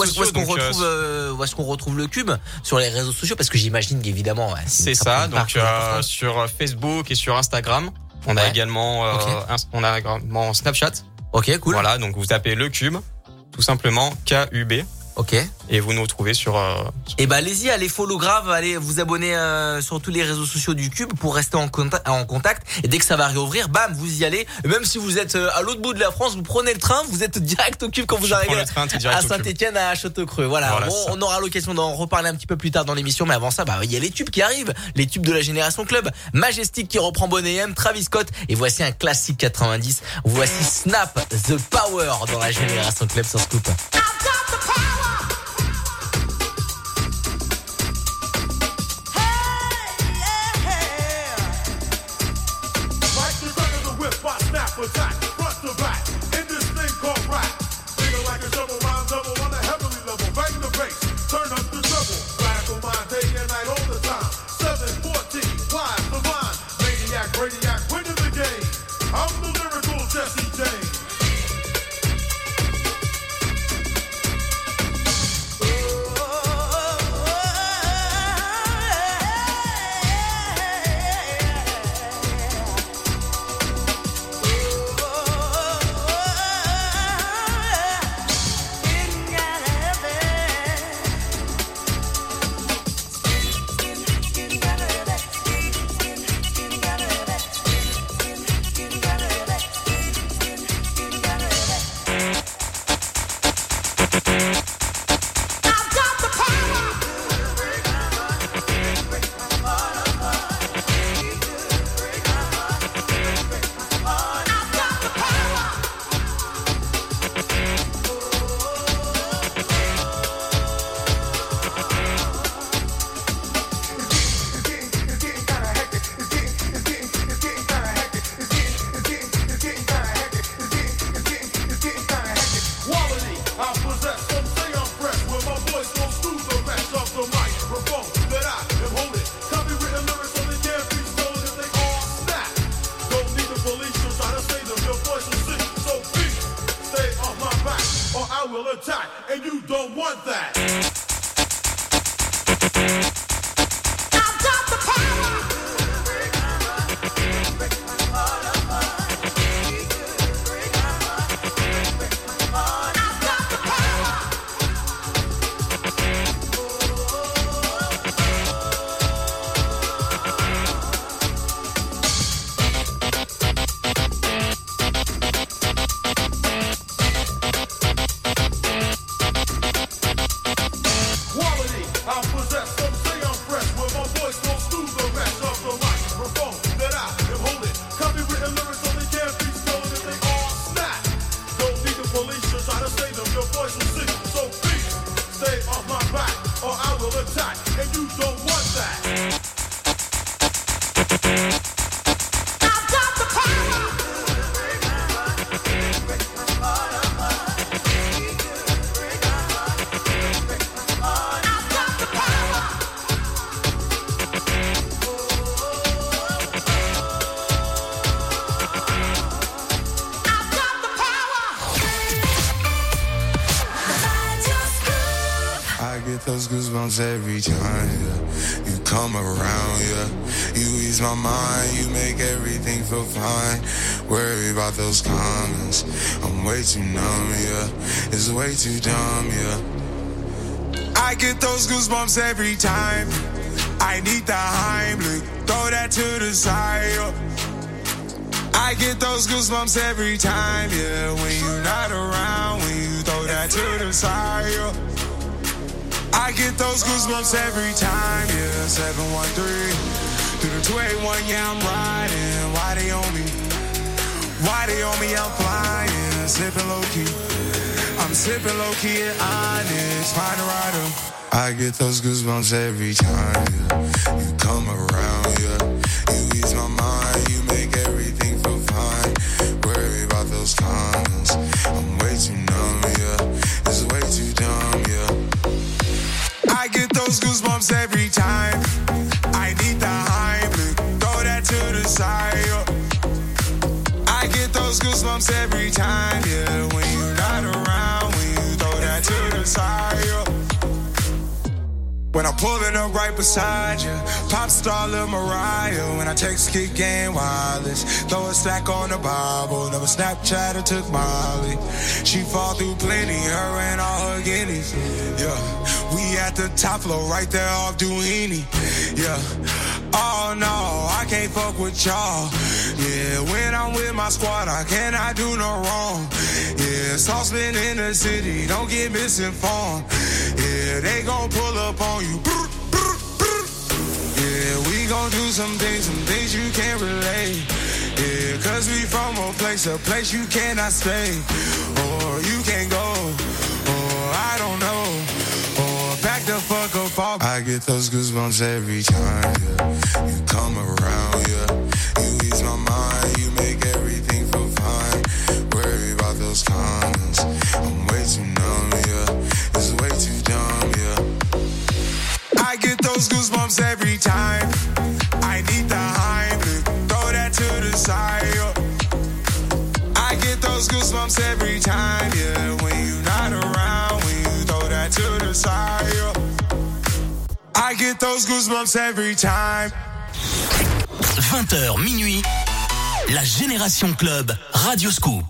retrouve le Cube sur les réseaux sociaux, parce que j'imagine qu'évidemment c'est ça, donc sur Facebook et sur Instagram, on a également Snapchat. OK, cool. Voilà, donc vous tapez le Cube, tout simplement KUB. Ok. Et vous nous retrouvez sur... Et bah allez-y, allez follow grave, allez vous abonner sur tous les réseaux sociaux du Cube pour rester en contact. Et dès que ça va réouvrir, bam, vous y allez. Et même si vous êtes à l'autre bout de la France, vous prenez le train, vous êtes direct au Cube quand vous arrivez à Saint-Etienne, à Châteaucreux. Voilà bon, on aura l'occasion d'en reparler un petit peu plus tard dans l'émission. Mais avant ça, bah il y a les tubes qui arrivent, les tubes de la Génération Club. Majestic qui reprend Bonnet M, Travis Scott. Et voici un classique 90. Voici Snap The Power dans la Génération Club sur Scoop. Attack, front to back, in this thing called rap. Feeling like a double rhyme double on a heavenly level. Bang the bass, turn up the treble. Radical mind day and night all the time. 714, wise, divine. Maniac, radiac, winning the game. I'm the lyrical Jesse James. Every time you come around, you ease my mind, you make everything feel fine. Worry about those comments, I'm way too numb, it's way too dumb, I get those goosebumps every time. I need the Heimlich, throw that to the side. I get those goosebumps every time, when you're not around, when you throw that to the side. I get those goosebumps every time, 713 through the 281, I'm riding. Why they on me? Why they on me? I'm flying, sipping low key. I'm sipping low key and honest, find a rider. I get those goosebumps every time, you come around, you ease my mind, you make everything feel fine. Worry about those comments, I'm way too numb, it's way too dumb, I get those goosebumps every time. I need the Heimlich, throw that to the side. I get those goosebumps every time, when you're not around, when you throw that to the side. When I'm pulling up right beside you, pop star Lil Mariah. When I text kick game wireless, throw a stack on the Bible. Never Snapchat or took Molly. She fall through plenty, her and all her guineas. Yeah, we at the top floor, right there off Duini. Yeah, oh no, I can't fuck with y'all. Yeah, when I'm with my squad, I cannot do no wrong. Yeah, saucepan in the city, don't get misinformed. Yeah, they gon' pull up on you. Yeah, we gon' do some things you can't relate. Yeah, cause we from a place you cannot stay. Or you can't go, or I don't know. Or back the fuck up off. I get those goosebumps every time, yeah. You come around, yeah. You ease my mind, you make everything feel fine. Worry about those comments, I'm way too numb, yeah. It's way too dumb, yeah. I get those goosebumps every time. I need the Heimlich, throw that to the side, yeah. I get those goosebumps every time, yeah. When you're not around, when you throw that to the side, yeah. I get those goosebumps every time. 20h minuit, la Génération Club Radio Scoop.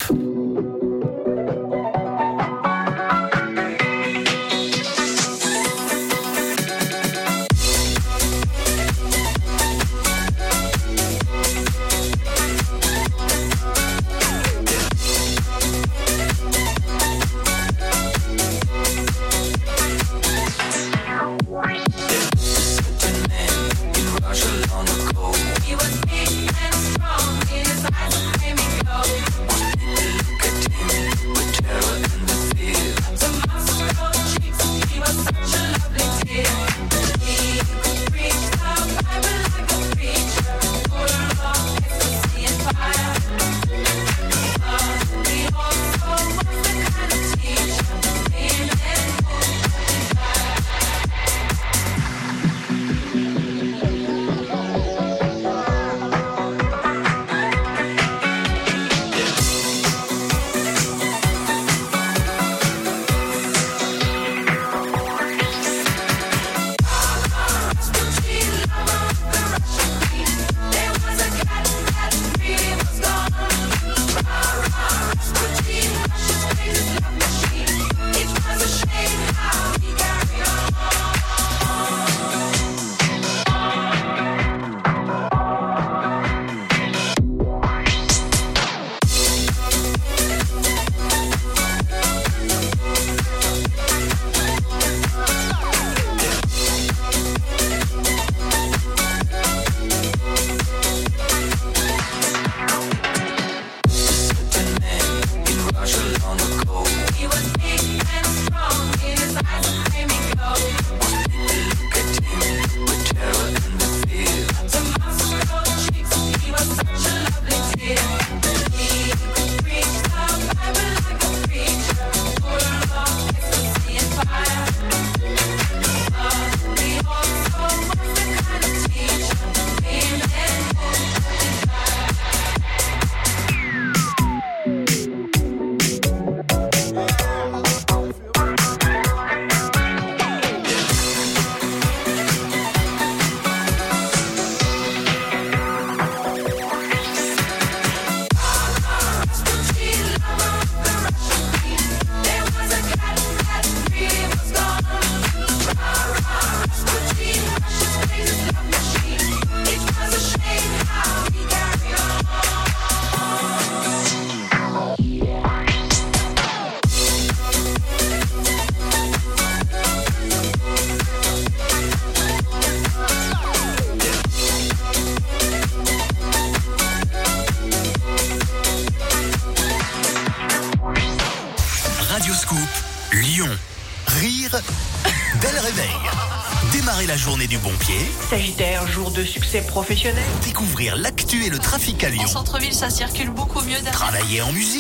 La journée du bon pied. Sagittaire, jour de succès professionnel. Découvrir l'actu et le trafic à Lyon. En centre-ville, ça circule beaucoup mieux derrière. Travailler en musique.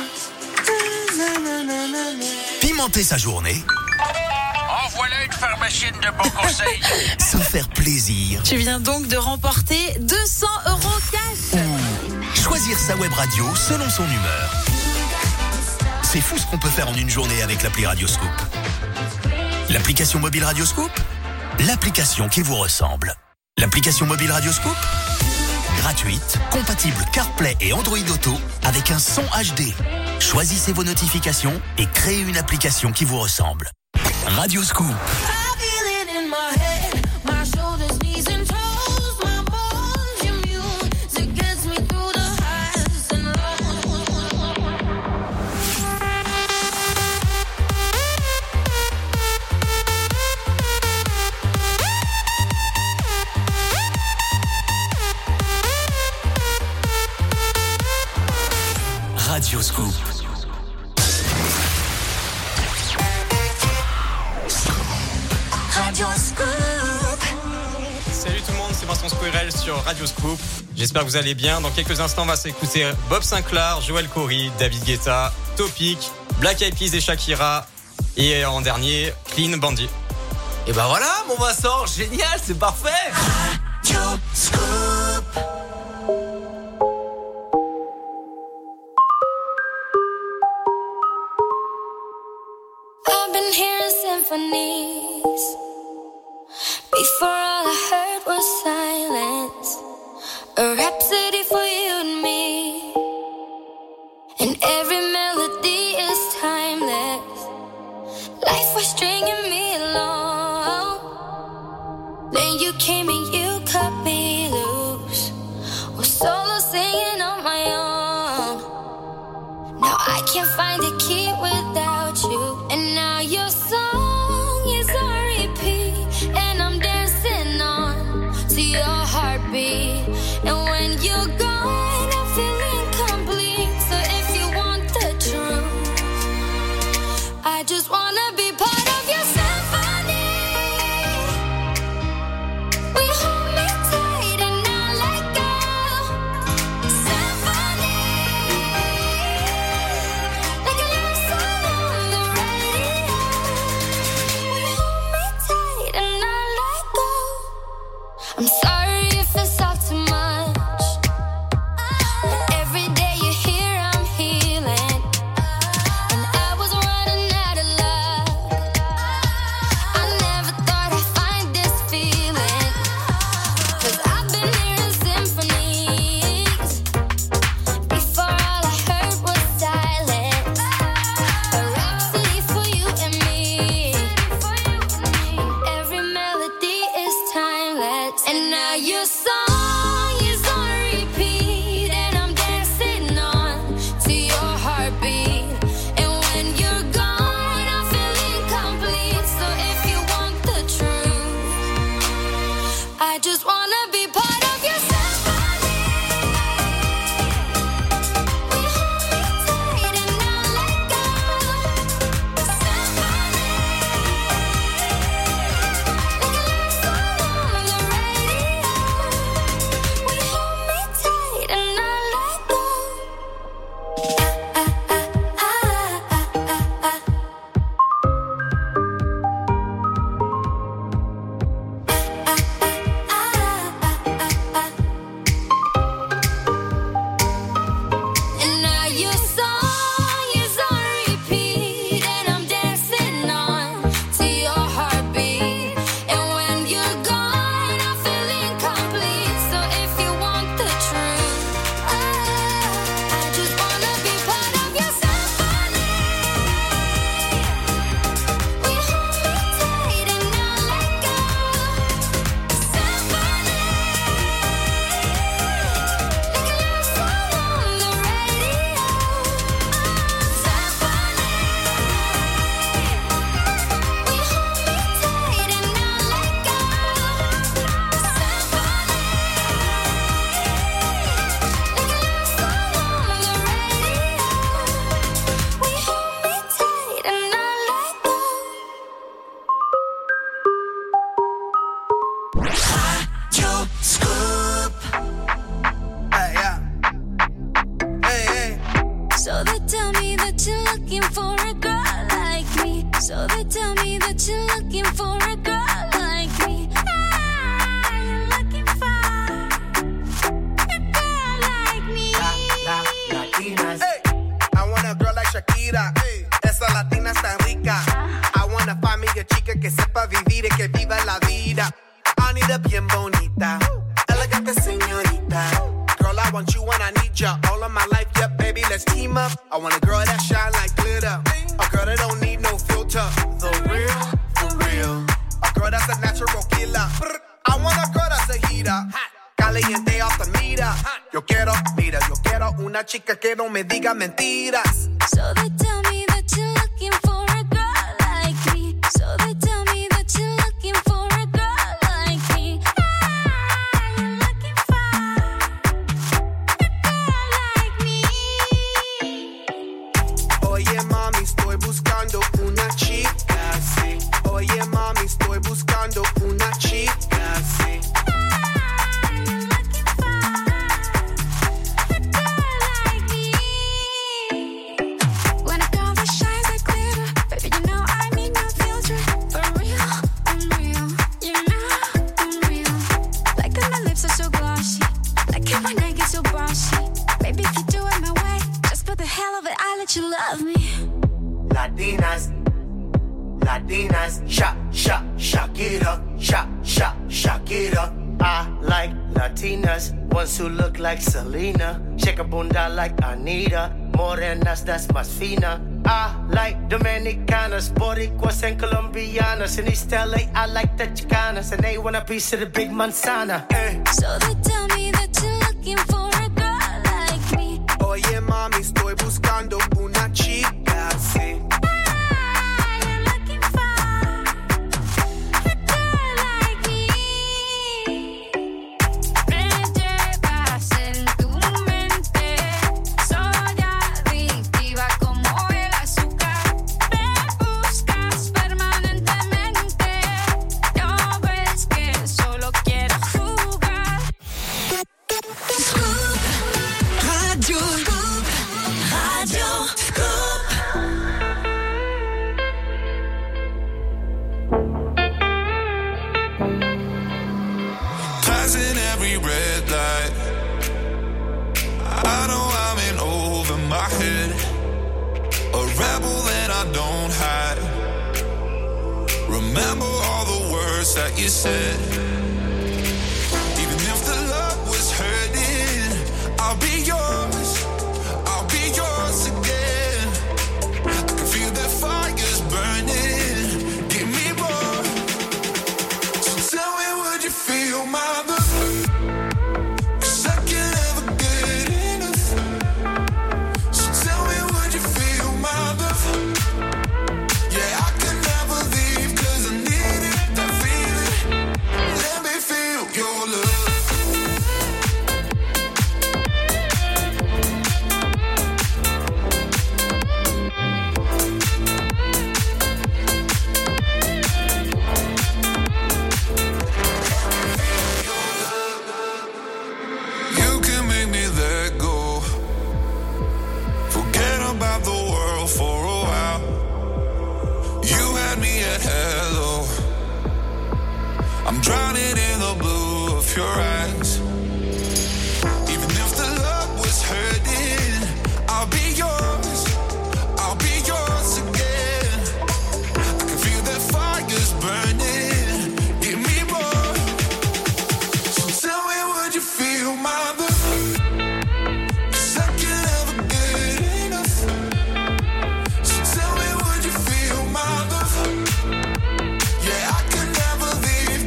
Pimenter sa journée. En voilà une pharmacienne de bons conseils. Se faire plaisir. Tu viens donc de remporter 200 € cash. Choisir sa web radio selon son humeur. C'est fou ce qu'on peut faire en une journée avec l'appli Radio Scoop. L'application mobile Radio Scoop, l'application qui vous ressemble. L'application mobile Radioscoop, gratuite, compatible CarPlay et Android Auto, avec un son HD. Choisissez vos notifications et créez une application qui vous ressemble. Radioscoop. Radioscoop. Radioscoop. Salut tout le monde, c'est Vincent Squirrel sur Radioscoop. J'espère que vous allez bien. Dans quelques instants, on va s'écouter Bob Sinclair, Joel Corry, David Guetta, Topic, Black Eyed Peas et Shakira. Et en dernier, Clean Bandit. Et ben voilà, mon Vincent, génial, c'est parfait. Radioscoop. I've been hearing symphonies. Before all I heard was silence. A rhapsody for you and me. And every melody is timeless. Life was stringing me along. Then you came and you cut me loose. Was solo singing on my own. Now I can't find a key without you. And now your song is on repeat. And I'm dancing on to your heartbeat. And when you're gone, I feel incomplete. So if you want the truth, I just wanna be part of your symphony. We hold me tight and not let go. Symphony, like a love song on the radio. We hold me tight and not let go. I'm sorry if it's all too much. Every day you're here, I'm healing. And I was running out of luck. I never thought I'd find this feeling. 'Cause I've been hearing symphonies. Before all I heard was silence. A rhapsody for you and me. And every melody is timeless. And now your song is on repeat. And I'm dancing on to your heartbeat. And when you're gone, I feel incomplete. So if you want the truth, I just wanna be part of your symphony. We hold me tight and not let go. Symphony, like a love song on the radio. We hold me tight and not let go. And now your song is on repeat. And I'm dancing on to your heartbeat. And when you're gone, I feel incomplete. So if you want the truth, I just wanna be part of your symphony. We hold me tight and not let go. Symphony, like a love song on the radio. Symphony, we hold me tight and not let go. Symphony, like a love song on the radio. We hold me tight and not let go. Radioscoop. Hey, yeah. Hey, hey. So they tell me that you're looking for a girl like me. So they tell me that you're looking for a girl like me. Ah, you're looking for a girl like me. Hey, I want a girl like Shakira. Esa latina está rica. I wanna find me a cualquier chica que sepa vivir y que viva la vida. Anita bien bonita, elegante señorita. Girl, I want you and I need ya all of my life, yeah, baby, let's team up. I want a girl that shine like glitter, a girl that don't need no filter. The real, for real, a girl that's a natural killer. I want a girl that's a heater, caliente off the meter. Yo quiero una chica que no me diga mentiras. So they tell me that you're looking for a girl like me. So they tell me that you're looking for a girl like me. You're looking for a girl like me. Oye mami, estoy buscando una chica, sí. Oye mami, estoy buscando una chica, sí. You love me. Latinas, shock it up, shock it up. I like Latinas, ones who look like Selena, shake a bunda like Anita, morenas that's más fina. I like Dominicanas, Boricuas and Colombianas. In East LA, I like the Chicanas, and they want a piece of the big manzana. So they tell me that you're looking for a girl like me. Oye mami, estoy buscando una chica, sí. Remember all the words that you said. Even if the love was hurting, I'll be yours. I'll be yours again. I can feel the fire's burning. Give me more. So tell me, would you feel my love? Drowning in the blue of your eyes. Even if the love was hurting, I'll be yours. I'll be yours again. I can feel that fire's burning. Give me more. So tell me, would you feel my love? 'Cause I can never get enough. So tell me, would you feel my love? Yeah, I can never leave.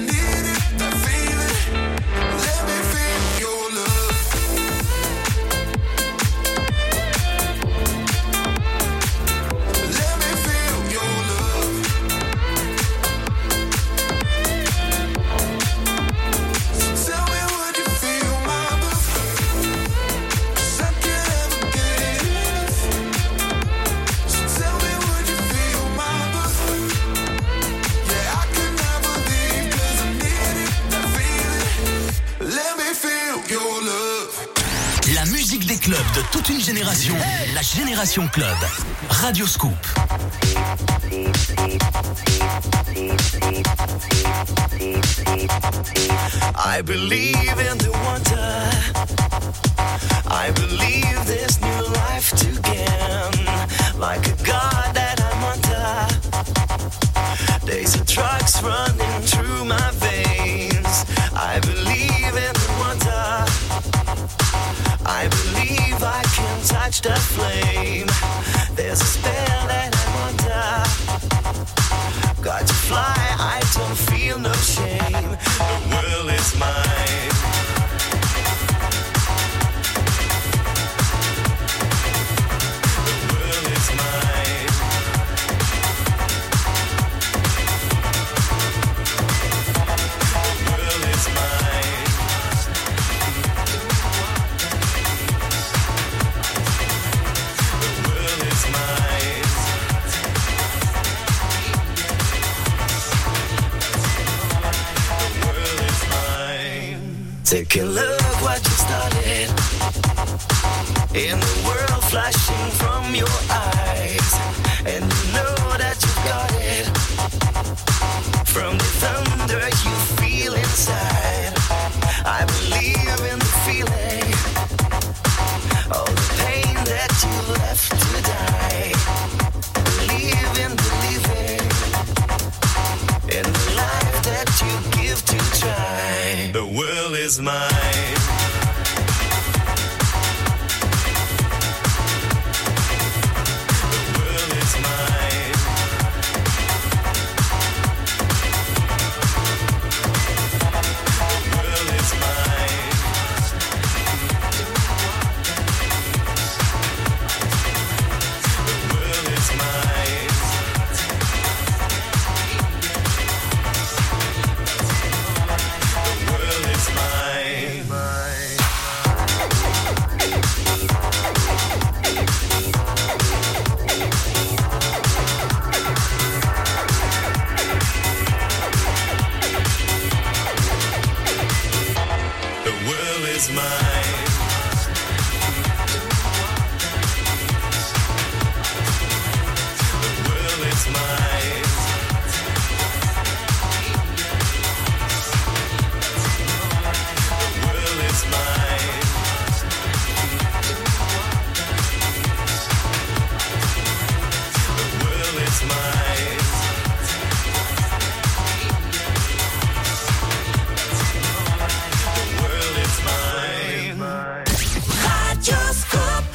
Club de toute une génération, la Génération Club. Radio Scoop. I believe in the wonder. I believe this new life to gain. Like a God that I'm under. touch the flame. There's a spell that I'm under. Got to fly, I don't feel no shame. The world is mine. The world is mine. The world is mine. The world is mine. Take a look what you started. In the world flashing from your eyes, and you know that you got it. From the thunder you feel inside, I believe in the feeling. All the pain that you left to die. Believe in believing in the life that you give to try. The world is mine. The world is mine. The world is mine. The world is mine. The world is mine. The world is mine. The world is mine. The world is mine. The world is mine. The world is mine. Radioscope.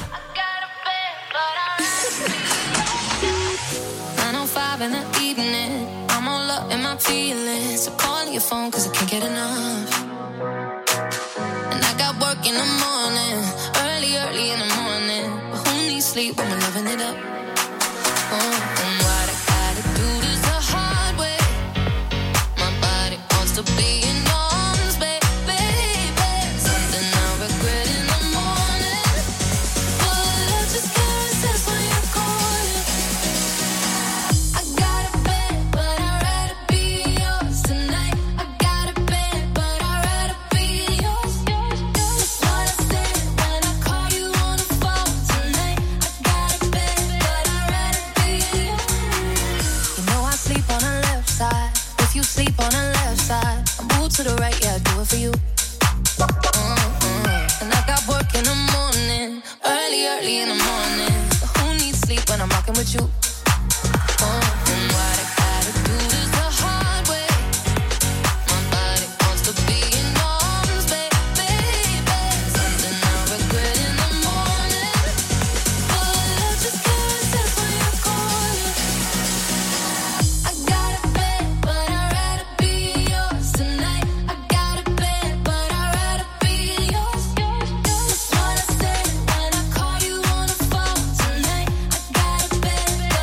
9:05 in the evening, I'm all up in my feelings. So calling your phone 'cause I can't get enough. And I got work in the morning, early in the morning. But who needs sleep when we're loving it up? And what I gotta do this the hard way. My body wants to be in arms, baby. Something I regret in the morning. But I just can't resist when you're calling. I got a bed, but I'd rather be yours tonight. I got a bed, but I'd rather be yours. That's what I said when I call you on the phone tonight. I got a bed, but I'd rather be yours. You know I sleep on the left side. If you sleep on the left side, I move to the right, yeah, I do it for you. And I got work in the morning, early in the morning. But who needs sleep when I'm rocking with you? And what I gotta do this the hard way. My body wants to be in arms, baby. Something I regret in the morning. But I just can't resist when you're calling. I got a bed, but I'd rather be yours tonight. I got a bed, but I'd rather be yours. That's what I said when I call you on the phone tonight. I got a bed, but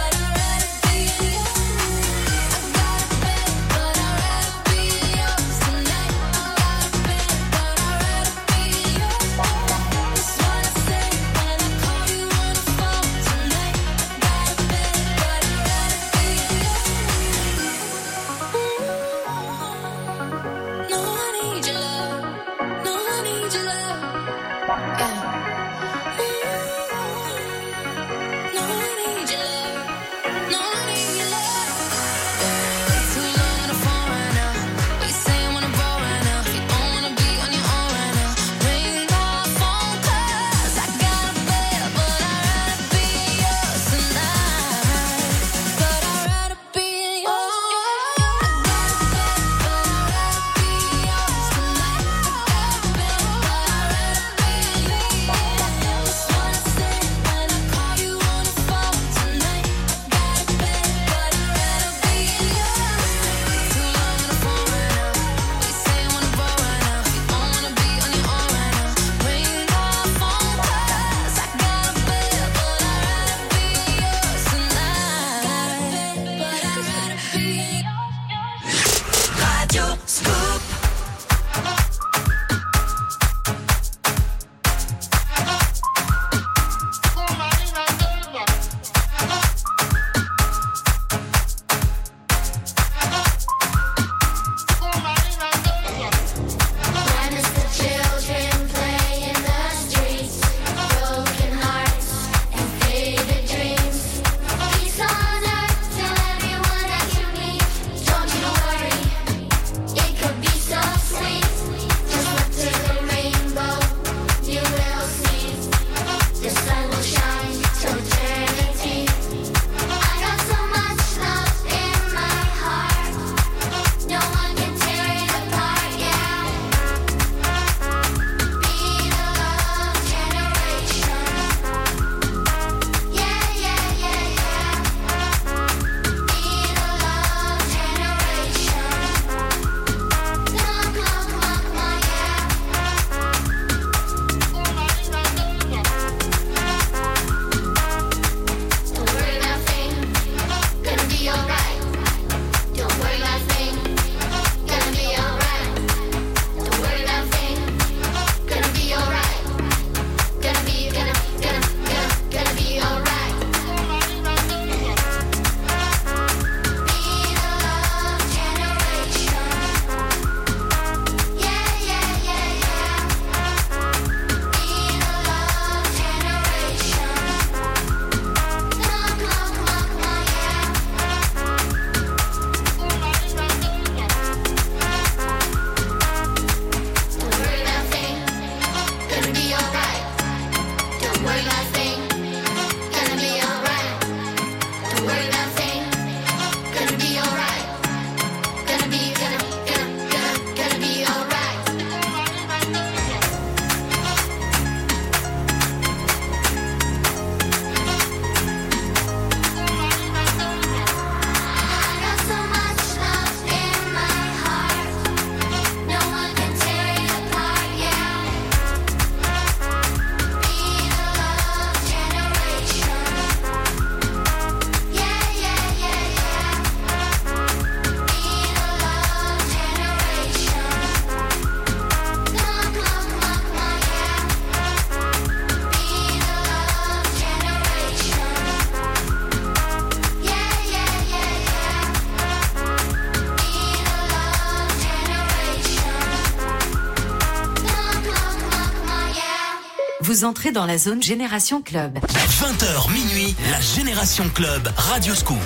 Vous entrez dans la zone Génération Club. 20h minuit, la Génération Club, Radio Scoop.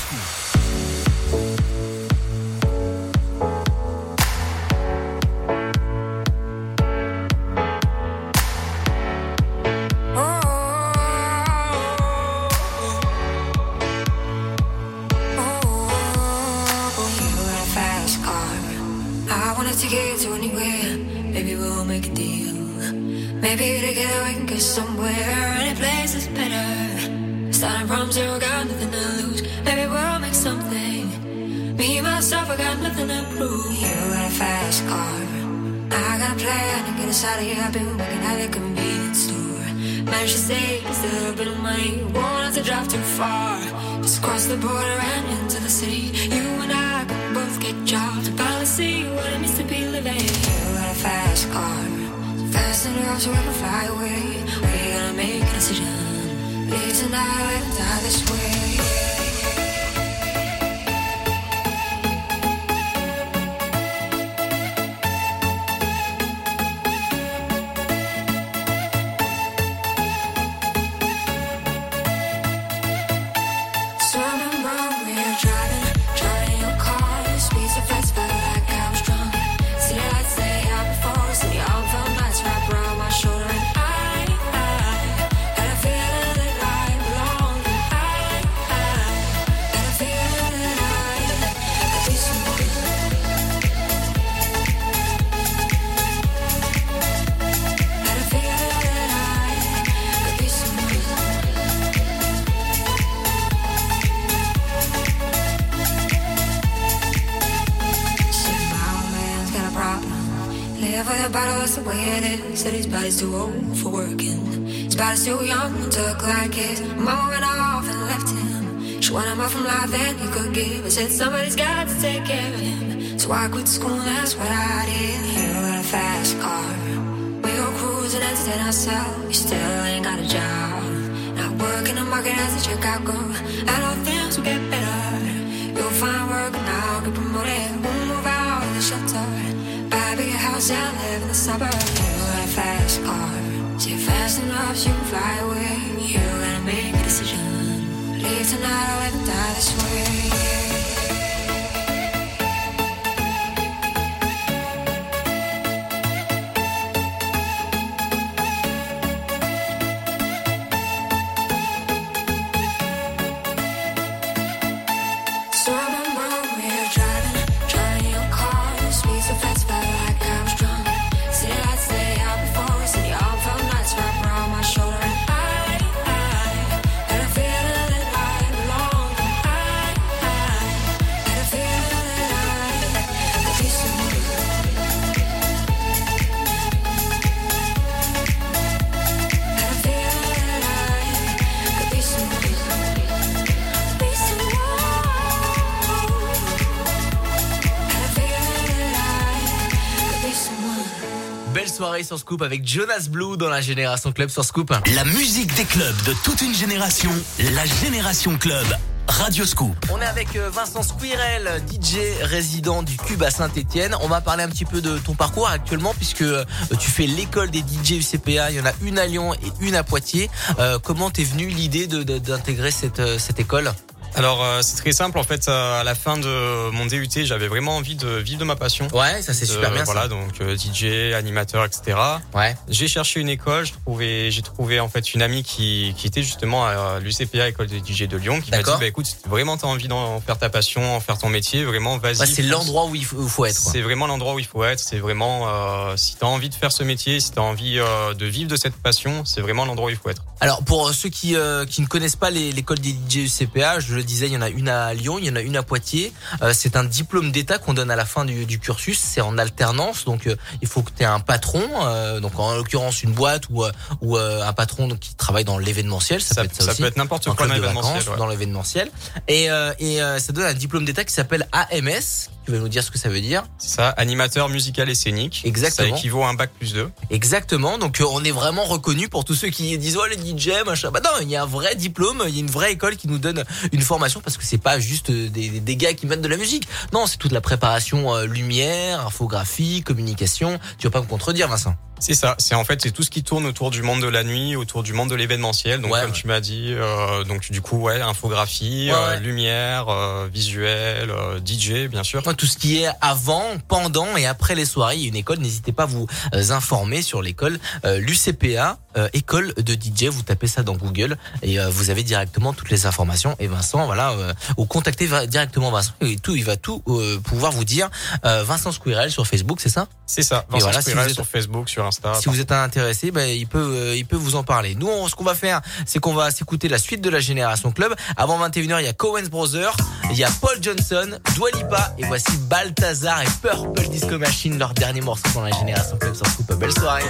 Maybe together we can get somewhere. Any place is better. Starting from zero, got nothing to lose. Maybe we'll make something. Me, myself, I got nothing to prove. You got a fast car. I got a plan to get us out of here. I've been working at a convenience store. Managed to save just a little bit of money. Won't have to drive too far. Just cross the border and into the city. You and I can both get jobs and finally see what it means to be living. You got a fast car. Fast enough so we can fly away. We're gonna make a decision. Live tonight, live and die this way. That's the way it is. Said his body's too old for working. His body's too young to look like his. Mama went off and left him. She wanted more from life than he could give. I said somebody's got to take care of him. So I quit school, that's what I did. You got a fast car. We go cruising, entertain ourselves. You still ain't got a job. Not working the market as a checkout girl. I know things will get better. You'll find work and I'll get promoted. We'll move out of the shelter. Buy a bigger house and live in the suburbs. You got a fast car. Say fast enough so you can fly away. You gotta make a decision. Leave tonight or live and die this way. Soirée sur Scoop avec Jonas Blue dans la Génération Club sur Scoop. La musique des clubs de toute une génération, la Génération Club, Radio Scoop. On est avec Vincent Squirrel, DJ résident du Cube à Saint-Etienne. On va parler un petit peu de ton parcours actuellement puisque tu fais l'école des DJ UCPA. Il y en a une à Lyon et une à Poitiers. Comment t'es venue l'idée d'intégrer cette école ? Alors c'est très simple en fait, à la fin de mon DUT j'avais vraiment envie de vivre de ma passion. Ouais, ça c'est super bien. Voilà, ça. donc DJ, animateur, etc. Ouais. J'ai cherché une école, j'ai trouvé en fait une amie qui était justement à l'UCPA, école des DJ de Lyon, qui m'a dit bah écoute, si vraiment t'as envie d'en faire ta passion, en faire ton métier, vraiment vas-y. Ouais, c'est l'endroit où il faut être. C'est vraiment l'endroit où il faut être. C'est vraiment si t'as envie de faire ce métier, si t'as envie de vivre de cette passion, c'est vraiment l'endroit où il faut être. Alors pour ceux qui ne connaissent pas l'école des DJ UCPA, je le disais, il y en a une à Lyon, il y en a une à Poitiers. C'est un diplôme d'État qu'on donne à la fin du cursus. C'est en alternance, donc il faut que tu aies un patron, donc en l'occurrence une boîte ou un patron donc, qui travaille dans l'événementiel. Ça peut être n'importe quoi dans l'événementiel. Dans l'événementiel. Et ça donne un diplôme d'État qui s'appelle AMS. Tu vas nous dire ce que ça veut dire? C'est ça, animateur musical et scénique. Exactement. Ça équivaut à un bac+2. Exactement. Donc on est vraiment reconnu pour tous ceux qui disent oh les DJ machin. Bah non, il y a un vrai diplôme, il y a une vraie école qui nous donne une formation parce que c'est pas juste des gars qui mettent de la musique. Non, c'est toute la préparation lumière, infographie, communication. Tu vas pas me contredire, Vincent? C'est ça. C'est tout ce qui tourne autour du monde de la nuit, autour du monde de l'événementiel. Donc, comme tu m'as dit, donc du coup, infographie, lumière, visuel, DJ, bien sûr. Tout ce qui est avant, pendant et après les soirées. Il y a une école. N'hésitez pas à vous informer sur l'école l'UCPA, école de DJ. Vous tapez ça dans Google et vous avez directement toutes les informations. Et Vincent, ou contactez directement Vincent. Et il va tout pouvoir vous dire. Vincent Squirrel sur Facebook, c'est ça? C'est ça. Vincent Squirrel sur Facebook, sur Insta. Si vous êtes intéressé, il peut vous en parler. Nous, ce qu'on va faire, c'est qu'on va s'écouter la suite de la Génération Club. Avant 21h, il y a Coen Brothers, il y a Paul Johnson, Dua Lipa, et voici Balthazar et Purple Disco Machine, leur dernier morceau dans la Génération Club sur Scoop. Belle soirée.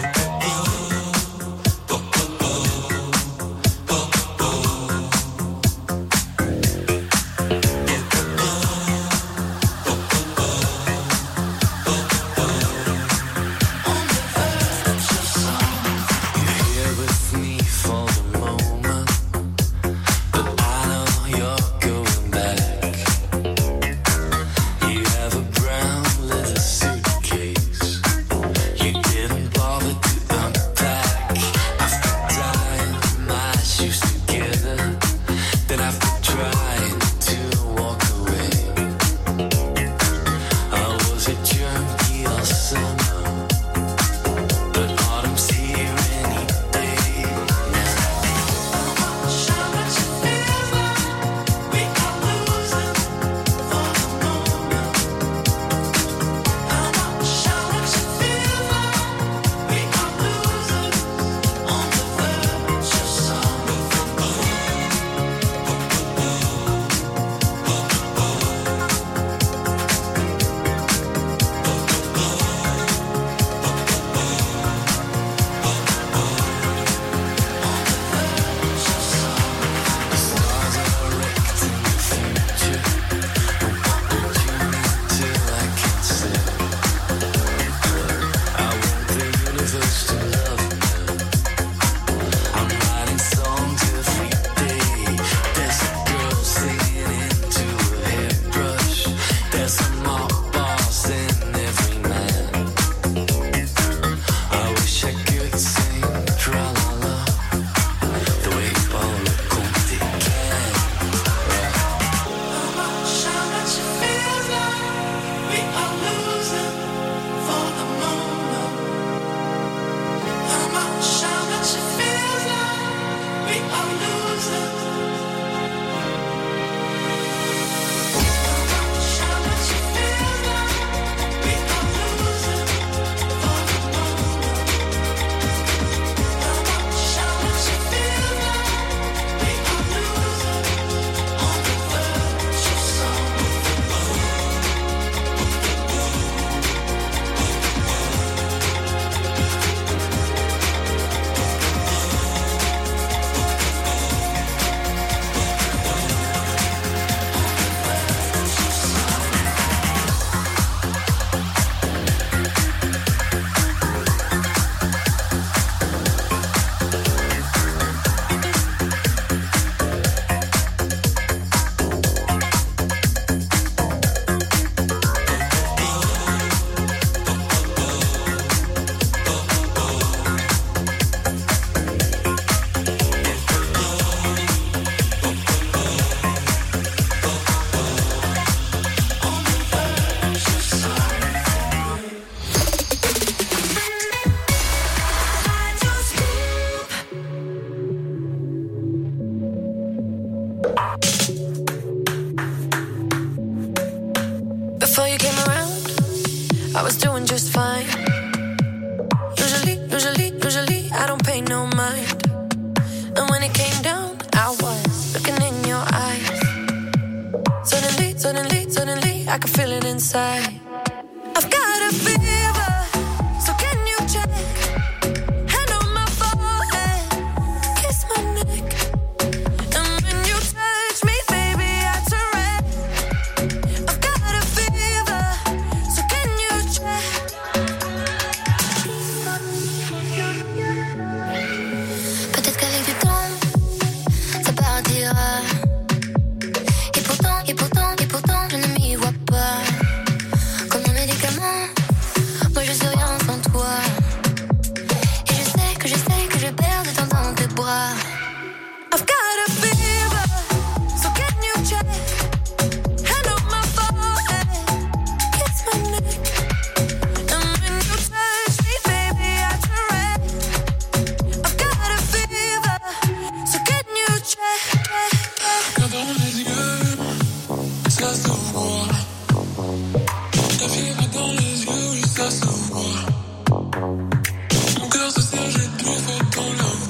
Et pourtant, je ne m'y vois pas.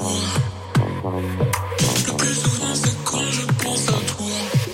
toi. Le plus souvent c'est quand je pense à toi.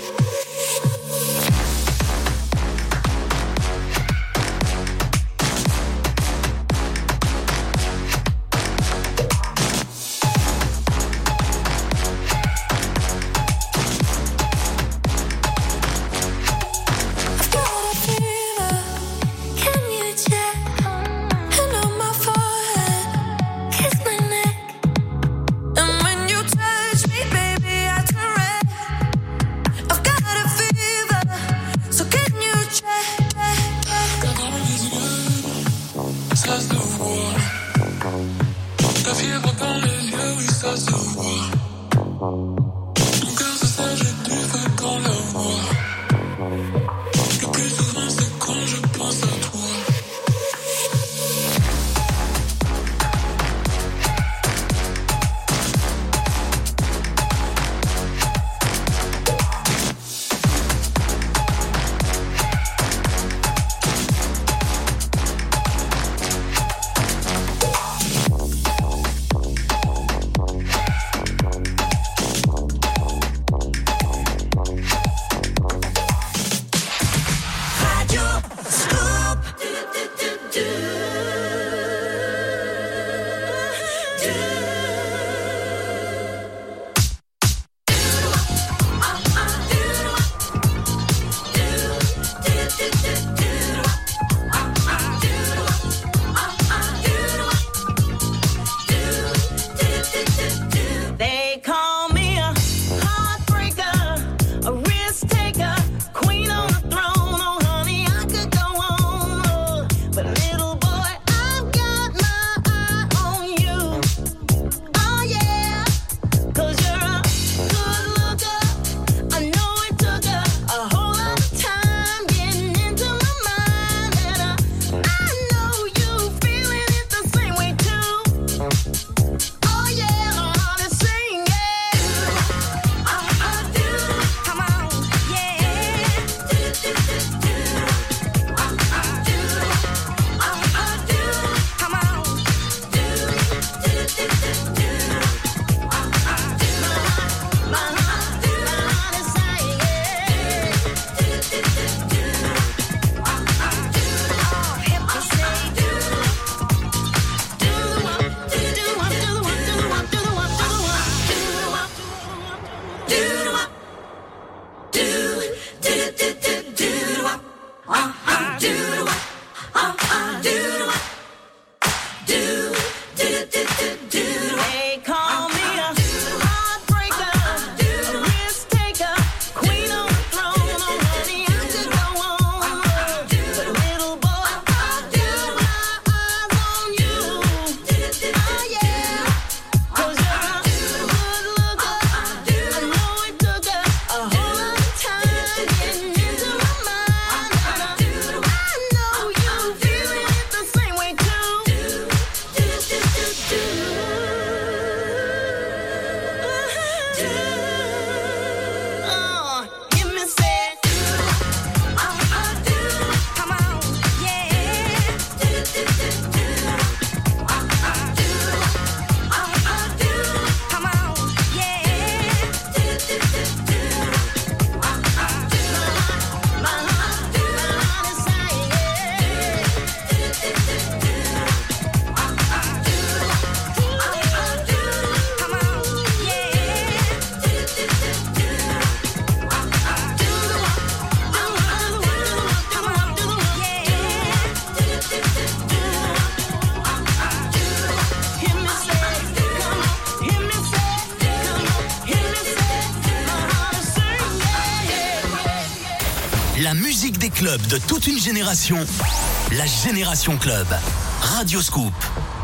La musique des clubs de toute une génération. La Génération Club. Radio Scoop.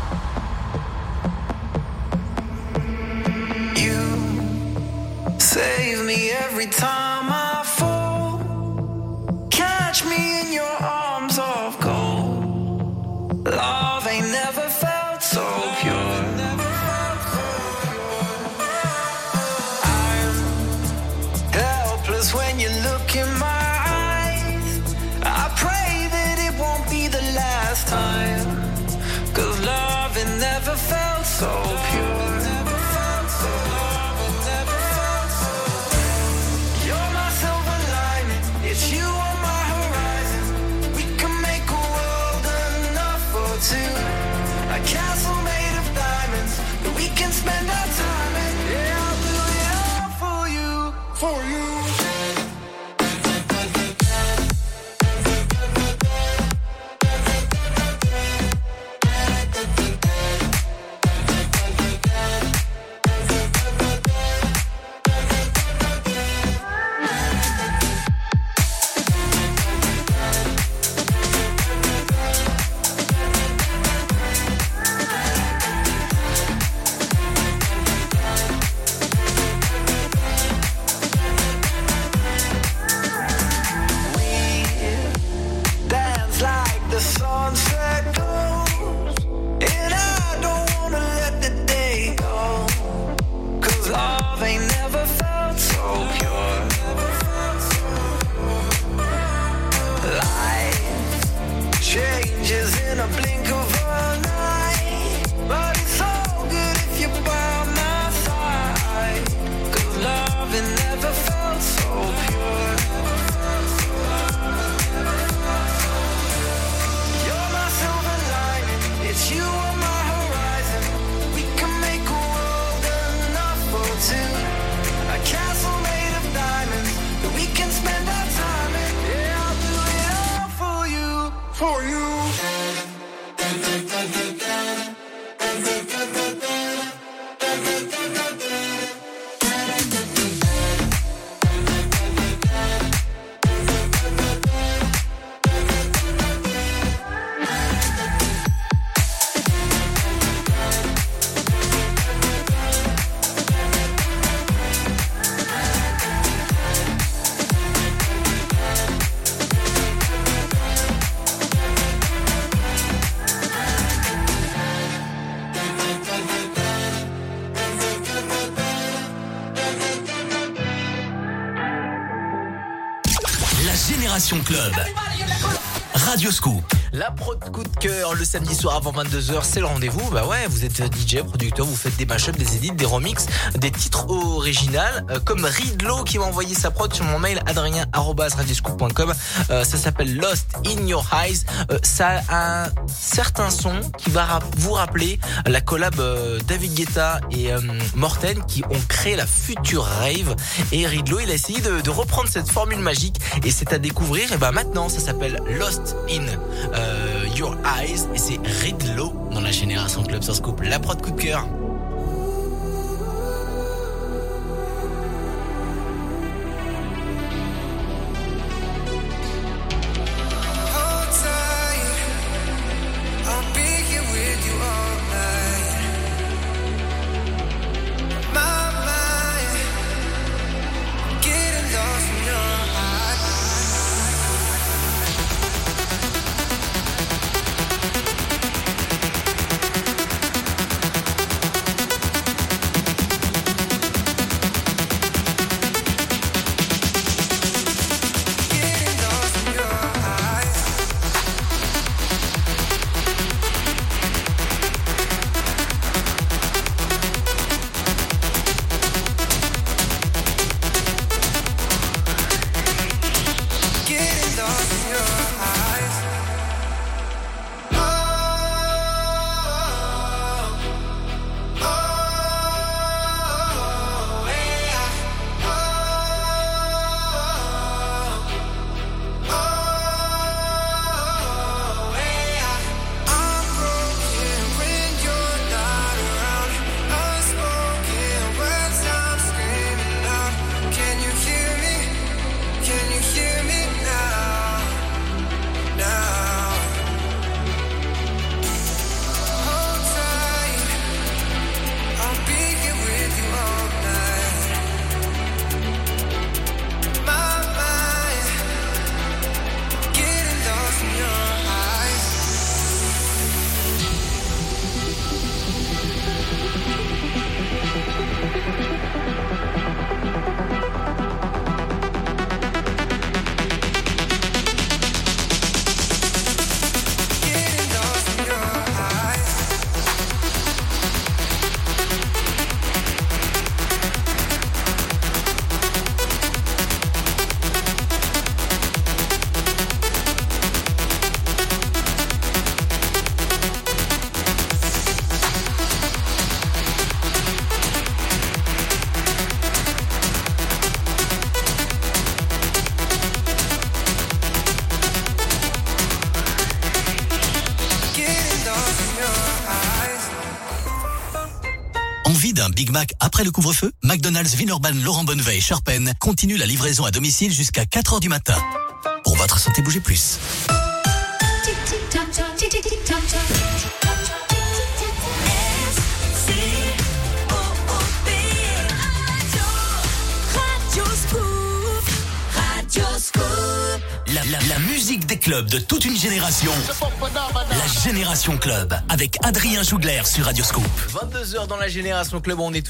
You save me every time I fall. Catch me in your arms of gold. Love ain't never felt so pure. I'm helpless when you look in my time, 'cause love it never felt so pure. Génération Club. Radio Scoop. La prod coup de cœur le samedi soir avant 22h, c'est le rendez-vous. Bah ouais, vous êtes DJ, producteur, vous faites des mashups, des edits, des remixes, des titres originaux, comme Ridlo qui m'a envoyé sa prod sur mon mail adrien@radioscoop.com. Ça s'appelle Lost in Your Eyes. Ça a un certain son qui va vous rappeler la collab David Guetta et Morten qui ont créé la future rave. Et Ridlo, il a essayé de reprendre cette formule magique et c'est à découvrir. Et bah maintenant, ça s'appelle Lost in Your Eyes et c'est Ridlo dans la Génération Club sur Scoop. La prod coup de cœur. Un Big Mac après le couvre-feu, McDonald's Villeurbanne Laurent Bonnevet et Sharpen continue la livraison à domicile jusqu'à 4h du matin. Pour votre santé, bougez plus. La musique des clubs de toute une génération. La Génération Club avec Adrien Jougler sur Radio Scoop. 22h dans la Génération Club, on est